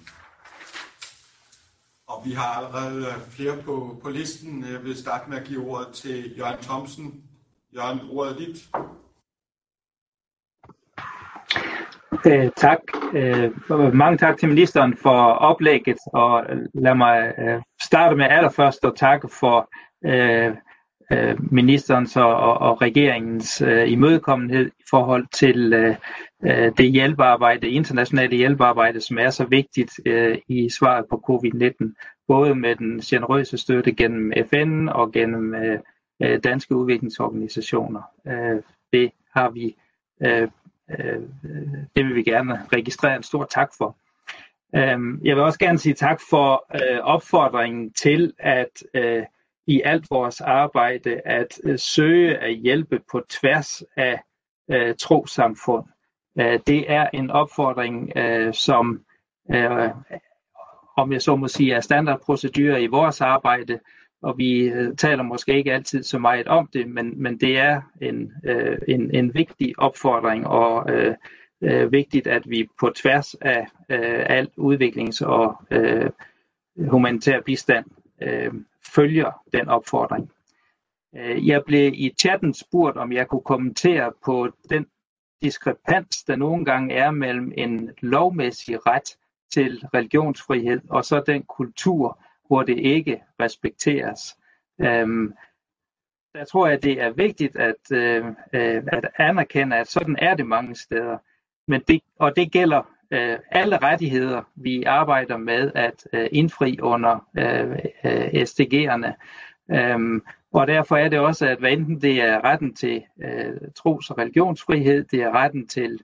Og vi har allerede flere på listen. Jeg vil starte med at give ordet til Jørgen Thomsen. Jørgen, ordet er dit. Tak. Mange tak til ministeren for oplægget, og lad mig starte med allerførst at takke for ministerens og regeringens imødekommenhed i forhold til det hjælpearbejde, internationale hjælpearbejde, som er så vigtigt i svaret på covid-19, både med den generøse støtte gennem FN og gennem danske udviklingsorganisationer. Det har vi det vil vi gerne registrere en stor tak for. Jeg vil også gerne sige tak for opfordringen til at i alt vores arbejde at søge at hjælpe på tværs af trossamfund. Det er en opfordring, som om jeg så må sige er standardprocedurer i vores arbejde, og vi taler måske ikke altid så meget om det, men det er en vigtig opfordring, og vigtigt, at vi på tværs af al udviklings- og humanitær bistand følger den opfordring. Jeg blev i chatten spurgt, om jeg kunne kommentere på den diskrepans, der nogle gange er mellem en lovmæssig ret til religionsfrihed og så den kultur, hvor det ikke respekteres. Der tror jeg, det er vigtigt at anerkende, at sådan er det mange steder. Og det gælder alle rettigheder, vi arbejder med at indfri under SDG'erne. Og derfor er det også, at hvad enten det er retten til tros- og religionsfrihed, det er retten til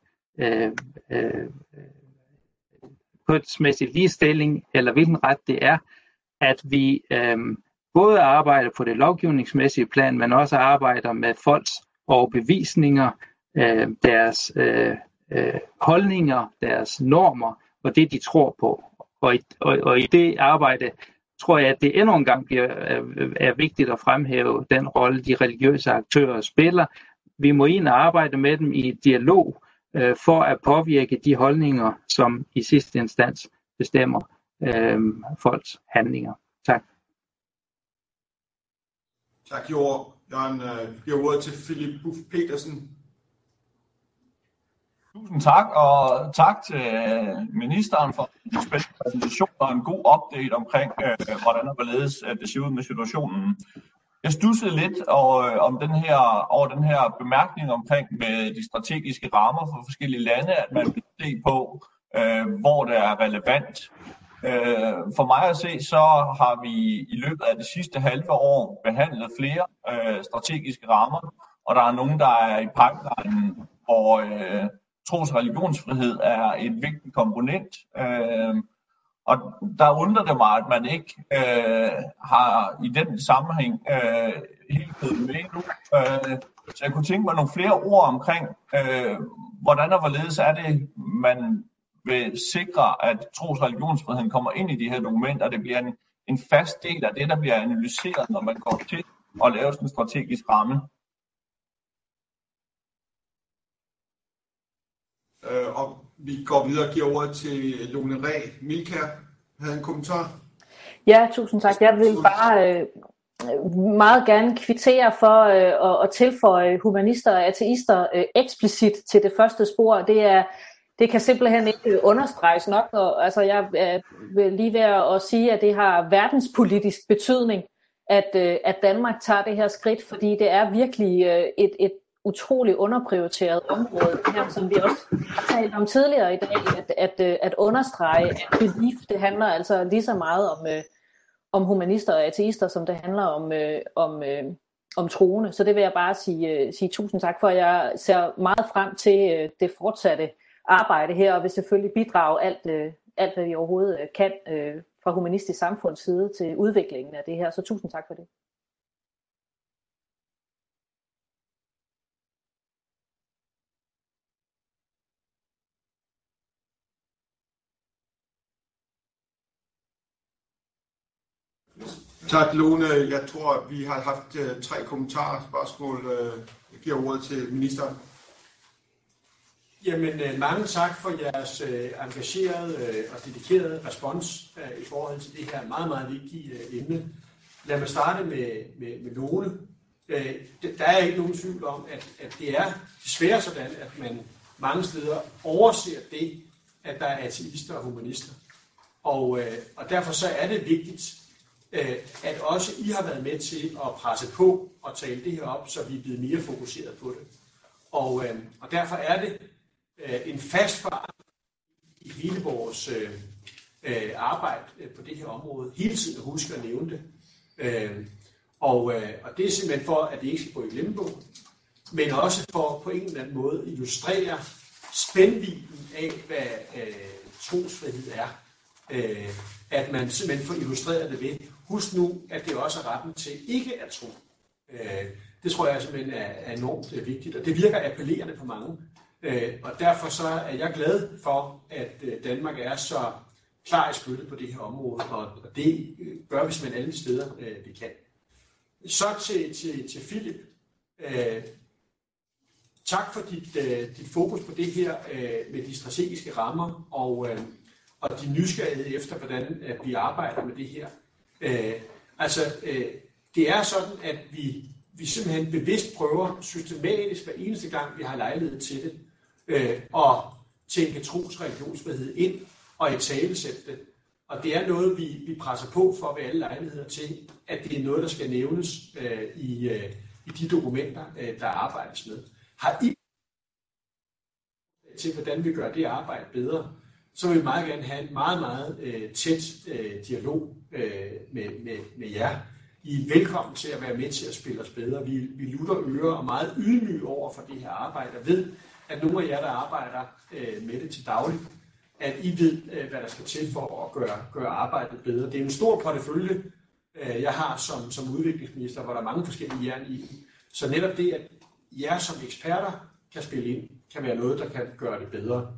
kønsmæssig ligestilling, eller hvilken ret det er, at vi både arbejder på det lovgivningsmæssige plan, men også arbejder med folks overbevisninger, deres holdninger, deres normer og det, de tror på. Og i det arbejde tror jeg, at det endnu en gang er vigtigt at fremhæve den rolle, de religiøse aktører spiller. Vi må ind og arbejde med dem i dialog for at påvirke de holdninger, som i sidste instans bestemmer folks handlinger. Tak. Tak, Jørgen. Jeg giver ordet til Philip Buff Petersen. Tusind tak, og tak til ministeren for en spændende præsentation og en god update omkring, hvordan og hvorledes det ser ud med situationen. Jeg studsede lidt over den her bemærkning omkring med de strategiske rammer for forskellige lande, at man vil se på, hvor det er relevant. For mig at se, så har vi i løbet af det sidste halve år behandlet flere strategiske rammer, og der er nogen, der er i pipeline, hvor tros- og religionsfrihed er et vigtigt komponent. Og der undrer det mig, at man ikke har i den sammenhæng helt blevet med nu. Så jeg kunne tænke mig nogle flere ord omkring, hvordan og hvorledes er det, man vil sikre, at tros- og religionsfriheden kommer ind i de her dokumenter, og det bliver en fast del af det, der bliver analyseret, når man går til at lave sådan en strategisk ramme. Og vi går videre og giver ordet til Lone Ræ. Milka havde en kommentar. Ja, tusind tak. Jeg vil bare meget gerne kvittere for at tilføje humanister og ateister eksplicit til det første spor. Det kan simpelthen ikke understreges nok. Og, altså, jeg vil lige være at sige, at det har verdenspolitisk betydning, at Danmark tager det her skridt, fordi det er virkelig et utroligt underprioriteret område, her, som vi også har talt om tidligere i dag, at understrege, at belief, det handler altså lige så meget om humanister og ateister, som det handler om troende. Så det vil jeg bare sige tusind tak for. Jeg ser meget frem til det fortsatte arbejde her, og vil selvfølgelig bidrage alt hvad vi overhovedet kan fra Humanistisk Samfunds side til udviklingen af det her. Så tusind tak for det. Tak, Lone. Jeg tror, vi har haft 3 kommentarer, spørgsmål. Jeg giver ordet til ministeren. Jamen, mange tak for jeres engagerede og dedikerede respons i forhold til det her meget, meget vigtige emne. Lad mig starte med Lone. Der er ikke nogen tvivl om, at det er desværre sådan, at man mange steder overser det, at der er ateister og humanister. Og derfor så er det vigtigt, at også I har været med til at presse på og tale det her op, så vi er blevet mere fokuseret på det. Og derfor er det en fast forankring i hele vores arbejde på det her område. Hele tiden at huske at nævne det. Og det er simpelthen for, at det ikke skal gå i glemmebogen, men også for på en eller anden måde illustrere spændvidden af, hvad trosfrihed er. At man simpelthen får illustreret det ved. Husk nu, at det også er retten til ikke at tro. Det tror jeg simpelthen er enormt vigtigt, og det virker appellerende på mange. Og derfor så er jeg glad for, at Danmark er så klar i spyttet på det her område, og det gør vi simpelthen alle de steder, vi kan. Så til Philip. Tak for dit fokus på det her med de strategiske rammer, og de nysgerrighed efter, hvordan vi arbejder med det her. Det er sådan, at vi simpelthen bevidst prøver systematisk hver eneste gang, vi har lejlighed til det, at tænke tros- og religionsfrihed ind og italesætte det. Og det er noget, vi presser på for ved alle lejligheder til, at det er noget, der skal nævnes i de dokumenter, der arbejdes med. Har I til, hvordan vi gør det arbejde bedre, så vil vi meget gerne have en meget, meget tæt dialog med jer. I er velkommen til at være med til at spille os bedre. Vi lutter ører og meget ydmyge over for det her arbejde, og ved, at nogle af jer, der arbejder med det til daglig, at I ved, hvad der skal til for at gøre arbejdet bedre. Det er en stor portefølje, jeg har som udviklingsminister, hvor der er mange forskellige jern i. Så netop det, at jer som eksperter kan spille ind, kan være noget, der kan gøre det bedre.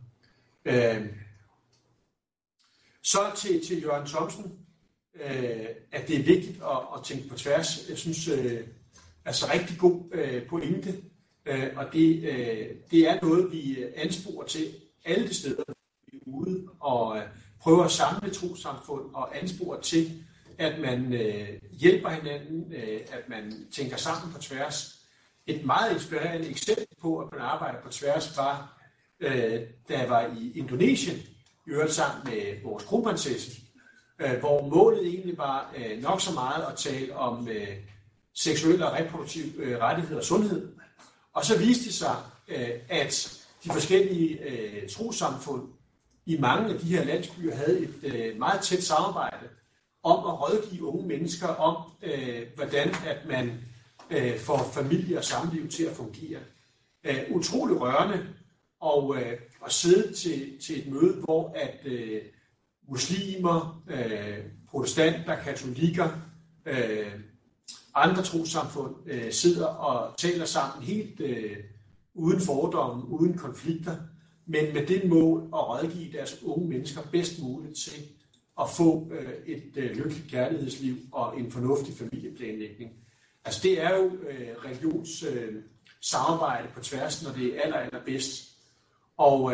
Så til Jørgen Thomsen, at det er vigtigt at tænke på tværs. Jeg synes, altså rigtig god pointe, og det er noget, vi ansporer til alle de steder, vi er ude og prøver at samle trossamfund og ansporer til, at man hjælper hinanden, at man tænker sammen på tværs. Et meget inspirerende eksempel på, at man arbejder på tværs, var, da jeg var i Indonesien, i øvrigt sammen med vores kronprinsesse, hvor målet egentlig var nok så meget at tale om seksuelle og reproduktive rettigheder og sundhed. Og så viste det sig, at de forskellige trossamfund i mange af de her landsbyer havde et meget tæt samarbejde om at rådgive unge mennesker om, hvordan at man får familie og samliv til at fungere. Utrolig rørende at sidde til et møde, hvor at muslimer, protestanter, katolikker, andre trossamfund sidder og taler sammen helt uden fordomme, uden konflikter, men med det mål at rådgive deres unge mennesker bedst muligt til at få et lykkeligt kærlighedsliv og en fornuftig familieplanlægning. Altså det er jo religionssamarbejde på tværs, når det er allerbedst. Og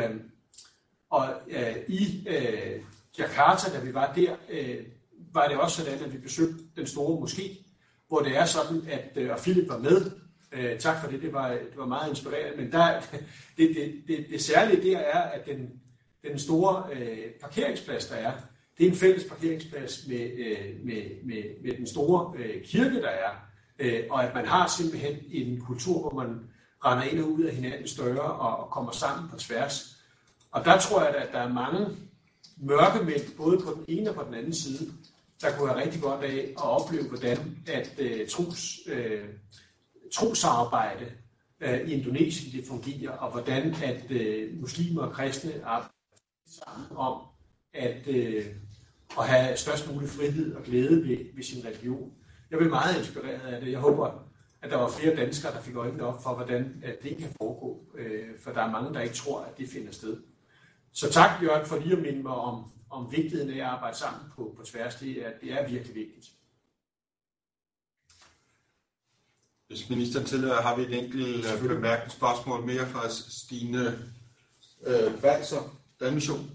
i Jakarta, da vi var der, var det også sådan, at vi besøgte den store moské, hvor det er sådan, at og Philip var med. Tak for det, det var meget inspirerende. Men det særlige der er, at den store parkeringsplads, der er, det er en fælles parkeringsplads med den store kirke, der er. Og at man har simpelthen en kultur, hvor man render ind og ud af hinandens døre og kommer sammen på tværs. Og der tror jeg, at der er mange mørkemænd, både på den ene og på den anden side, der kunne have rigtig godt af at opleve, hvordan at trossamarbejde i Indonesien det fungerer, og hvordan at muslimer og kristne arbejder sammen om at have størst mulig frihed og glæde ved sin religion. Jeg blev meget inspireret af det. Jeg håber, at der var flere danskere, der fik øjnene op for, hvordan at det kan foregå. For der er mange, der ikke tror, at det finder sted. Så tak, Jørgen, for lige at minde mig om vigtigheden af at arbejde sammen på tværs. Det er virkelig vigtigt. Hvis ministeren tillader, har vi et enkelt bemærkningsspørgsmål mere fra Stine Balser, Danmission.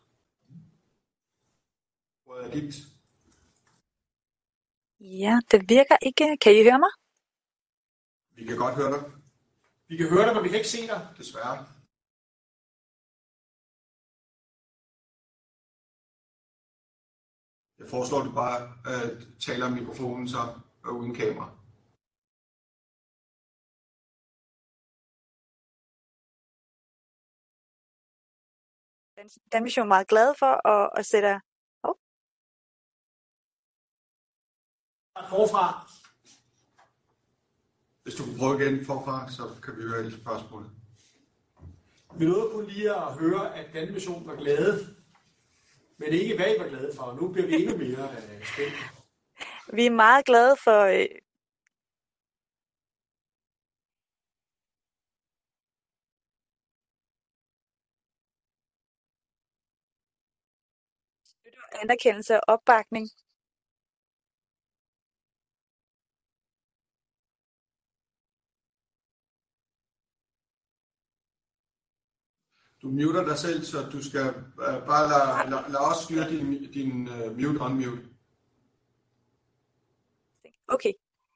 Hvor er dit? Ja, det virker ikke. Kan I høre mig? Vi kan godt høre dig. Vi kan høre dig, men vi kan ikke se dig. Desværre. Jeg foreslår, at du bare taler om mikrofonen så uden kamera. Danmission er meget glad for at sætte... Forfra. Hvis du kan prøve igen forfra, så kan vi høre hele spørgsmålet. Vi nåede kun lige at høre, at Danmission var glade, men ikke hvad I var glade for. Nu bliver vi endnu mere spændende. Vi er meget glade for... anerkendelse og opbakning. Du muter dig selv, så du skal bare lade os styre din mute-unmute. Okay.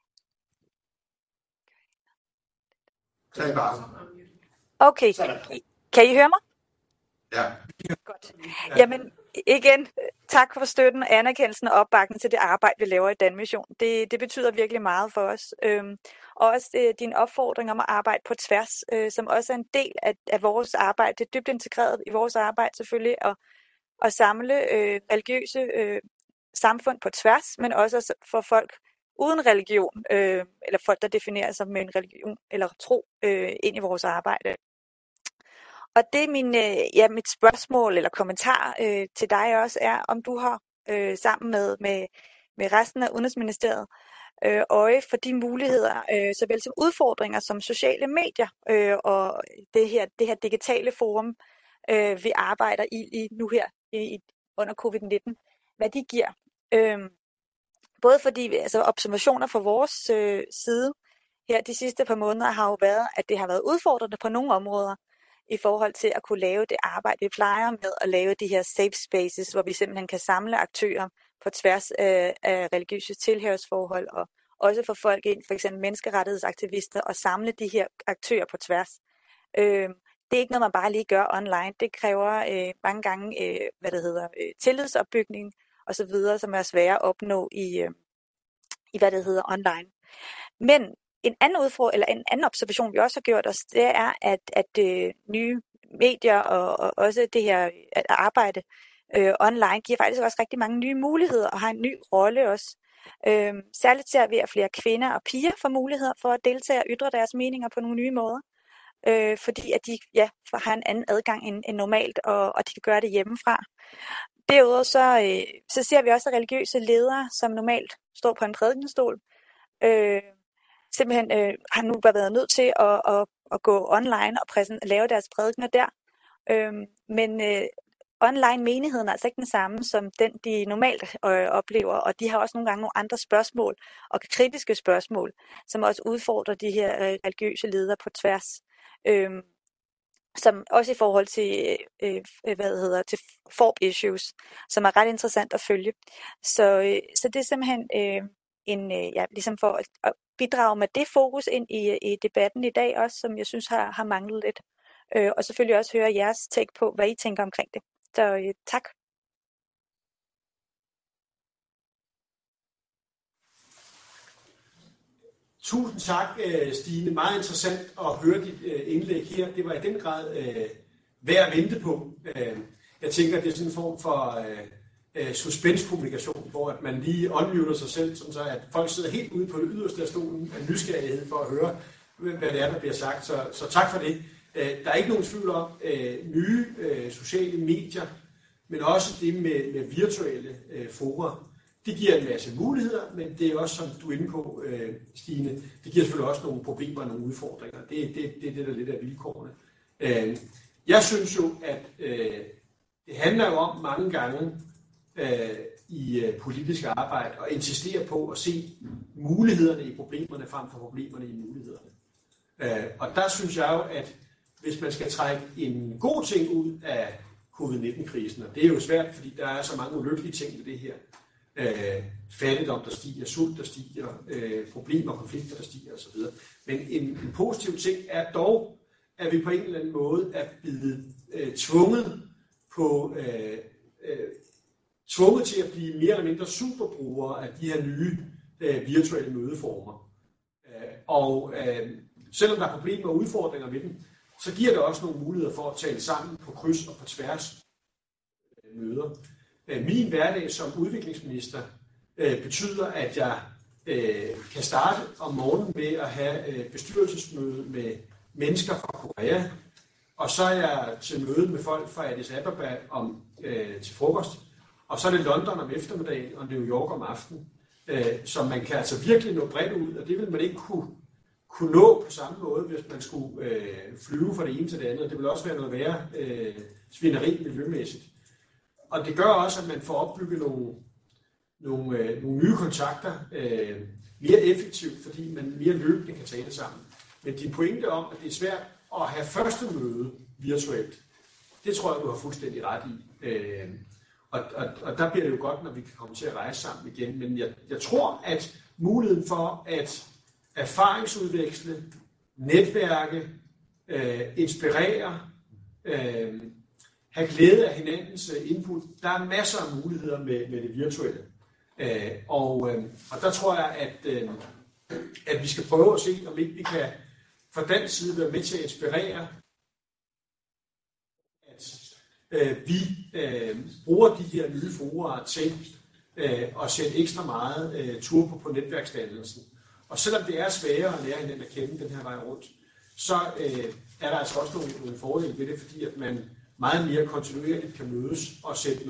Tag bare. Okay. Kan I høre mig? Ja. Godt. Jamen, igen, tak for støtten, anerkendelsen og opbakningen til det arbejde, vi laver i Danmission. Det betyder virkelig meget for os. Og også din opfordring om at arbejde på tværs, som også er en del af vores arbejde. Det er dybt integreret i vores arbejde selvfølgelig, at samle religiøse samfund på tværs, men også for folk uden religion, eller folk, der definerer sig med en religion eller tro ind i vores arbejde. Og det er mit spørgsmål eller kommentar til dig også er, om du har sammen med resten af Udenrigsministeriet øje for de muligheder, såvel som udfordringer som sociale medier og det her digitale forum, vi arbejder i nu her under covid-19, hvad de giver. Både fordi observationer fra vores side her de sidste par måneder har jo været, at det har været udfordrende på nogle områder, i forhold til at kunne lave det arbejde, vi plejer med at lave de her safe spaces, hvor vi simpelthen kan samle aktører på tværs af religiøse tilhørsforhold, og også få folk ind, for eksempel menneskerettighedsaktivister, og samle de her aktører på tværs. Det er ikke noget, man bare lige gør online. Det kræver mange gange tillidsopbygning osv., som er svære at opnå i online. Men en anden observation, vi også har gjort os, det er, at nye medier og også det her at arbejde online giver faktisk også rigtig mange nye muligheder og har en ny rolle også. Særligt ser vi, at flere kvinder og piger får muligheder for at deltage og ytre deres meninger på nogle nye måder. Fordi at de har en anden adgang end normalt, og de kan gøre det hjemmefra. Derudover så ser vi også religiøse ledere, som normalt står på en prædikenstol, simpelthen har nu været nødt til at gå online og lave deres prædikener der. Men online menigheden er altså ikke den samme som den, de normalt oplever, og de har også nogle gange nogle andre spørgsmål og kritiske spørgsmål, som også udfordrer de her religiøse ledere på tværs. Som også i forhold til til FORB issues, som er ret interessant at følge. Så det er simpelthen ligesom for at bidrage med det fokus ind i debatten i dag også, som jeg synes har manglet lidt. Og selvfølgelig også høre jeres take på, hvad I tænker omkring det. Så tak. Tusind tak, Stine. Meget interessant at høre dit indlæg her. Det var i den grad værd at vente på. Jeg tænker, at det er sådan en form for suspenskommunikation, hvor at man lige unmuter sig selv, sådan så at folk sidder helt ude på det yderste af stolen af nysgerrighed for at høre, hvad det er, der bliver sagt. Så tak for det. Der er ikke nogen tvivl om nye sociale medier, men også det med virtuelle fora. Det giver en masse muligheder, men det er også, som du er inde på, Stine, det giver selvfølgelig også nogle problemer og nogle udfordringer. Det er det, der lidt af vilkårene. Jeg synes jo, at det handler jo om mange gange i politisk arbejde at insistere på at se mulighederne i problemerne frem for problemerne i mulighederne. Og der synes jeg jo, at hvis man skal trække en god ting ud af covid-19-krisen, og det er jo svært, fordi der er så mange ulykkelige ting ved det her, fattigdom, der stiger, sult, der stiger, problemer og konflikter, der stiger osv. Men en positiv ting er dog, at vi på en eller anden måde er blevet tvunget til at blive mere eller mindre superbrugere af de her nye virtuelle mødeformer. Og selvom der er problemer og udfordringer ved dem, så giver det også nogle muligheder for at tale sammen på kryds og på tværs møder. Min hverdag som udviklingsminister betyder, at jeg kan starte om morgenen med at have bestyrelsesmøde med mennesker fra Korea, og så er jeg til møde med folk fra Addis Ababa til frokost, og så er det London om eftermiddagen og New York om aftenen. Så man kan altså virkelig nå bredt ud, og det vil man ikke kunne nå på samme måde, hvis man skulle flyve fra det ene til det andet. Det vil også være noget værre svineri miljømæssigt. Og det gør også, at man får opbygget nogle nye kontakter mere effektivt, fordi man mere løbende kan tale sammen. Men din pointe om, at det er svært at have første møde virtuelt, det tror jeg, du har fuldstændig ret i. Og der bliver det jo godt, når vi kan komme til at rejse sammen igen. Men jeg tror, at muligheden for at erfaringsudveksle, netværke, inspirere, have glæde af hinandens input, der er masser af muligheder med det virtuelle. Og der tror jeg, at vi skal prøve at se, om ikke vi kan fra dansk side være med til at inspirere, at vi bruger de her nye fora til at sætte ekstra meget turbo på netværksdannelsen. Og selvom det er sværere at lære hinanden at kende den her vej rundt, så er der altså også nogle fordele ved det, fordi at man meget mere kontinuerligt kan mødes og sætte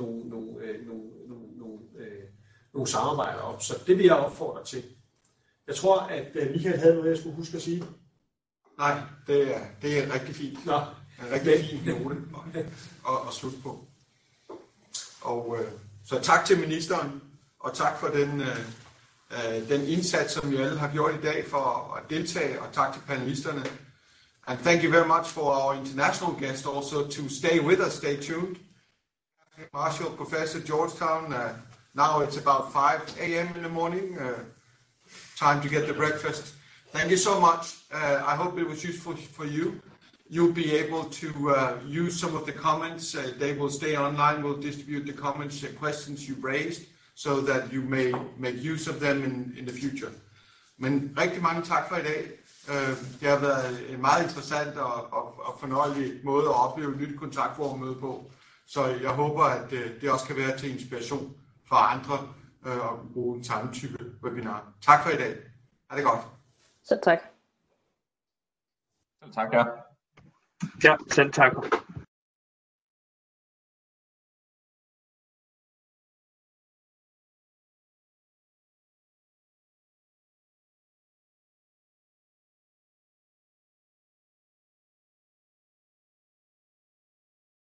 nogle samarbejder op. Så det vil jeg opfordre til. Jeg tror, at Michael havde noget, jeg skulle huske at sige. Nej, det er rigtig fint. Nå. En rigtig fin note at slutte på. Og så tak til ministeren, og tak for den indsats, som I alle har gjort i dag for at deltage, og tak til panelisterne. And thank you very much for our international guests also to stay with us, stay tuned. Marshall, Professor, Georgetown, now it's about 5 a.m. in the morning, time to get the breakfast. Thank you so much. I hope it was useful for you. You'll be able to use some of the comments. They will stay online. We'll distribute the comments and questions you raised so that you may make use of them in the future. Men rigtig mange tak for i dag. Det har været en meget interessant og fornøjelig måde at opleve et nyt kontaktformmøde på. Så jeg håber, at det også kan være til inspiration for andre at bruge den samme type webinar. Tak for i dag. Ha' det godt. Så tak. Selv tak, ja. Ja, selv tak.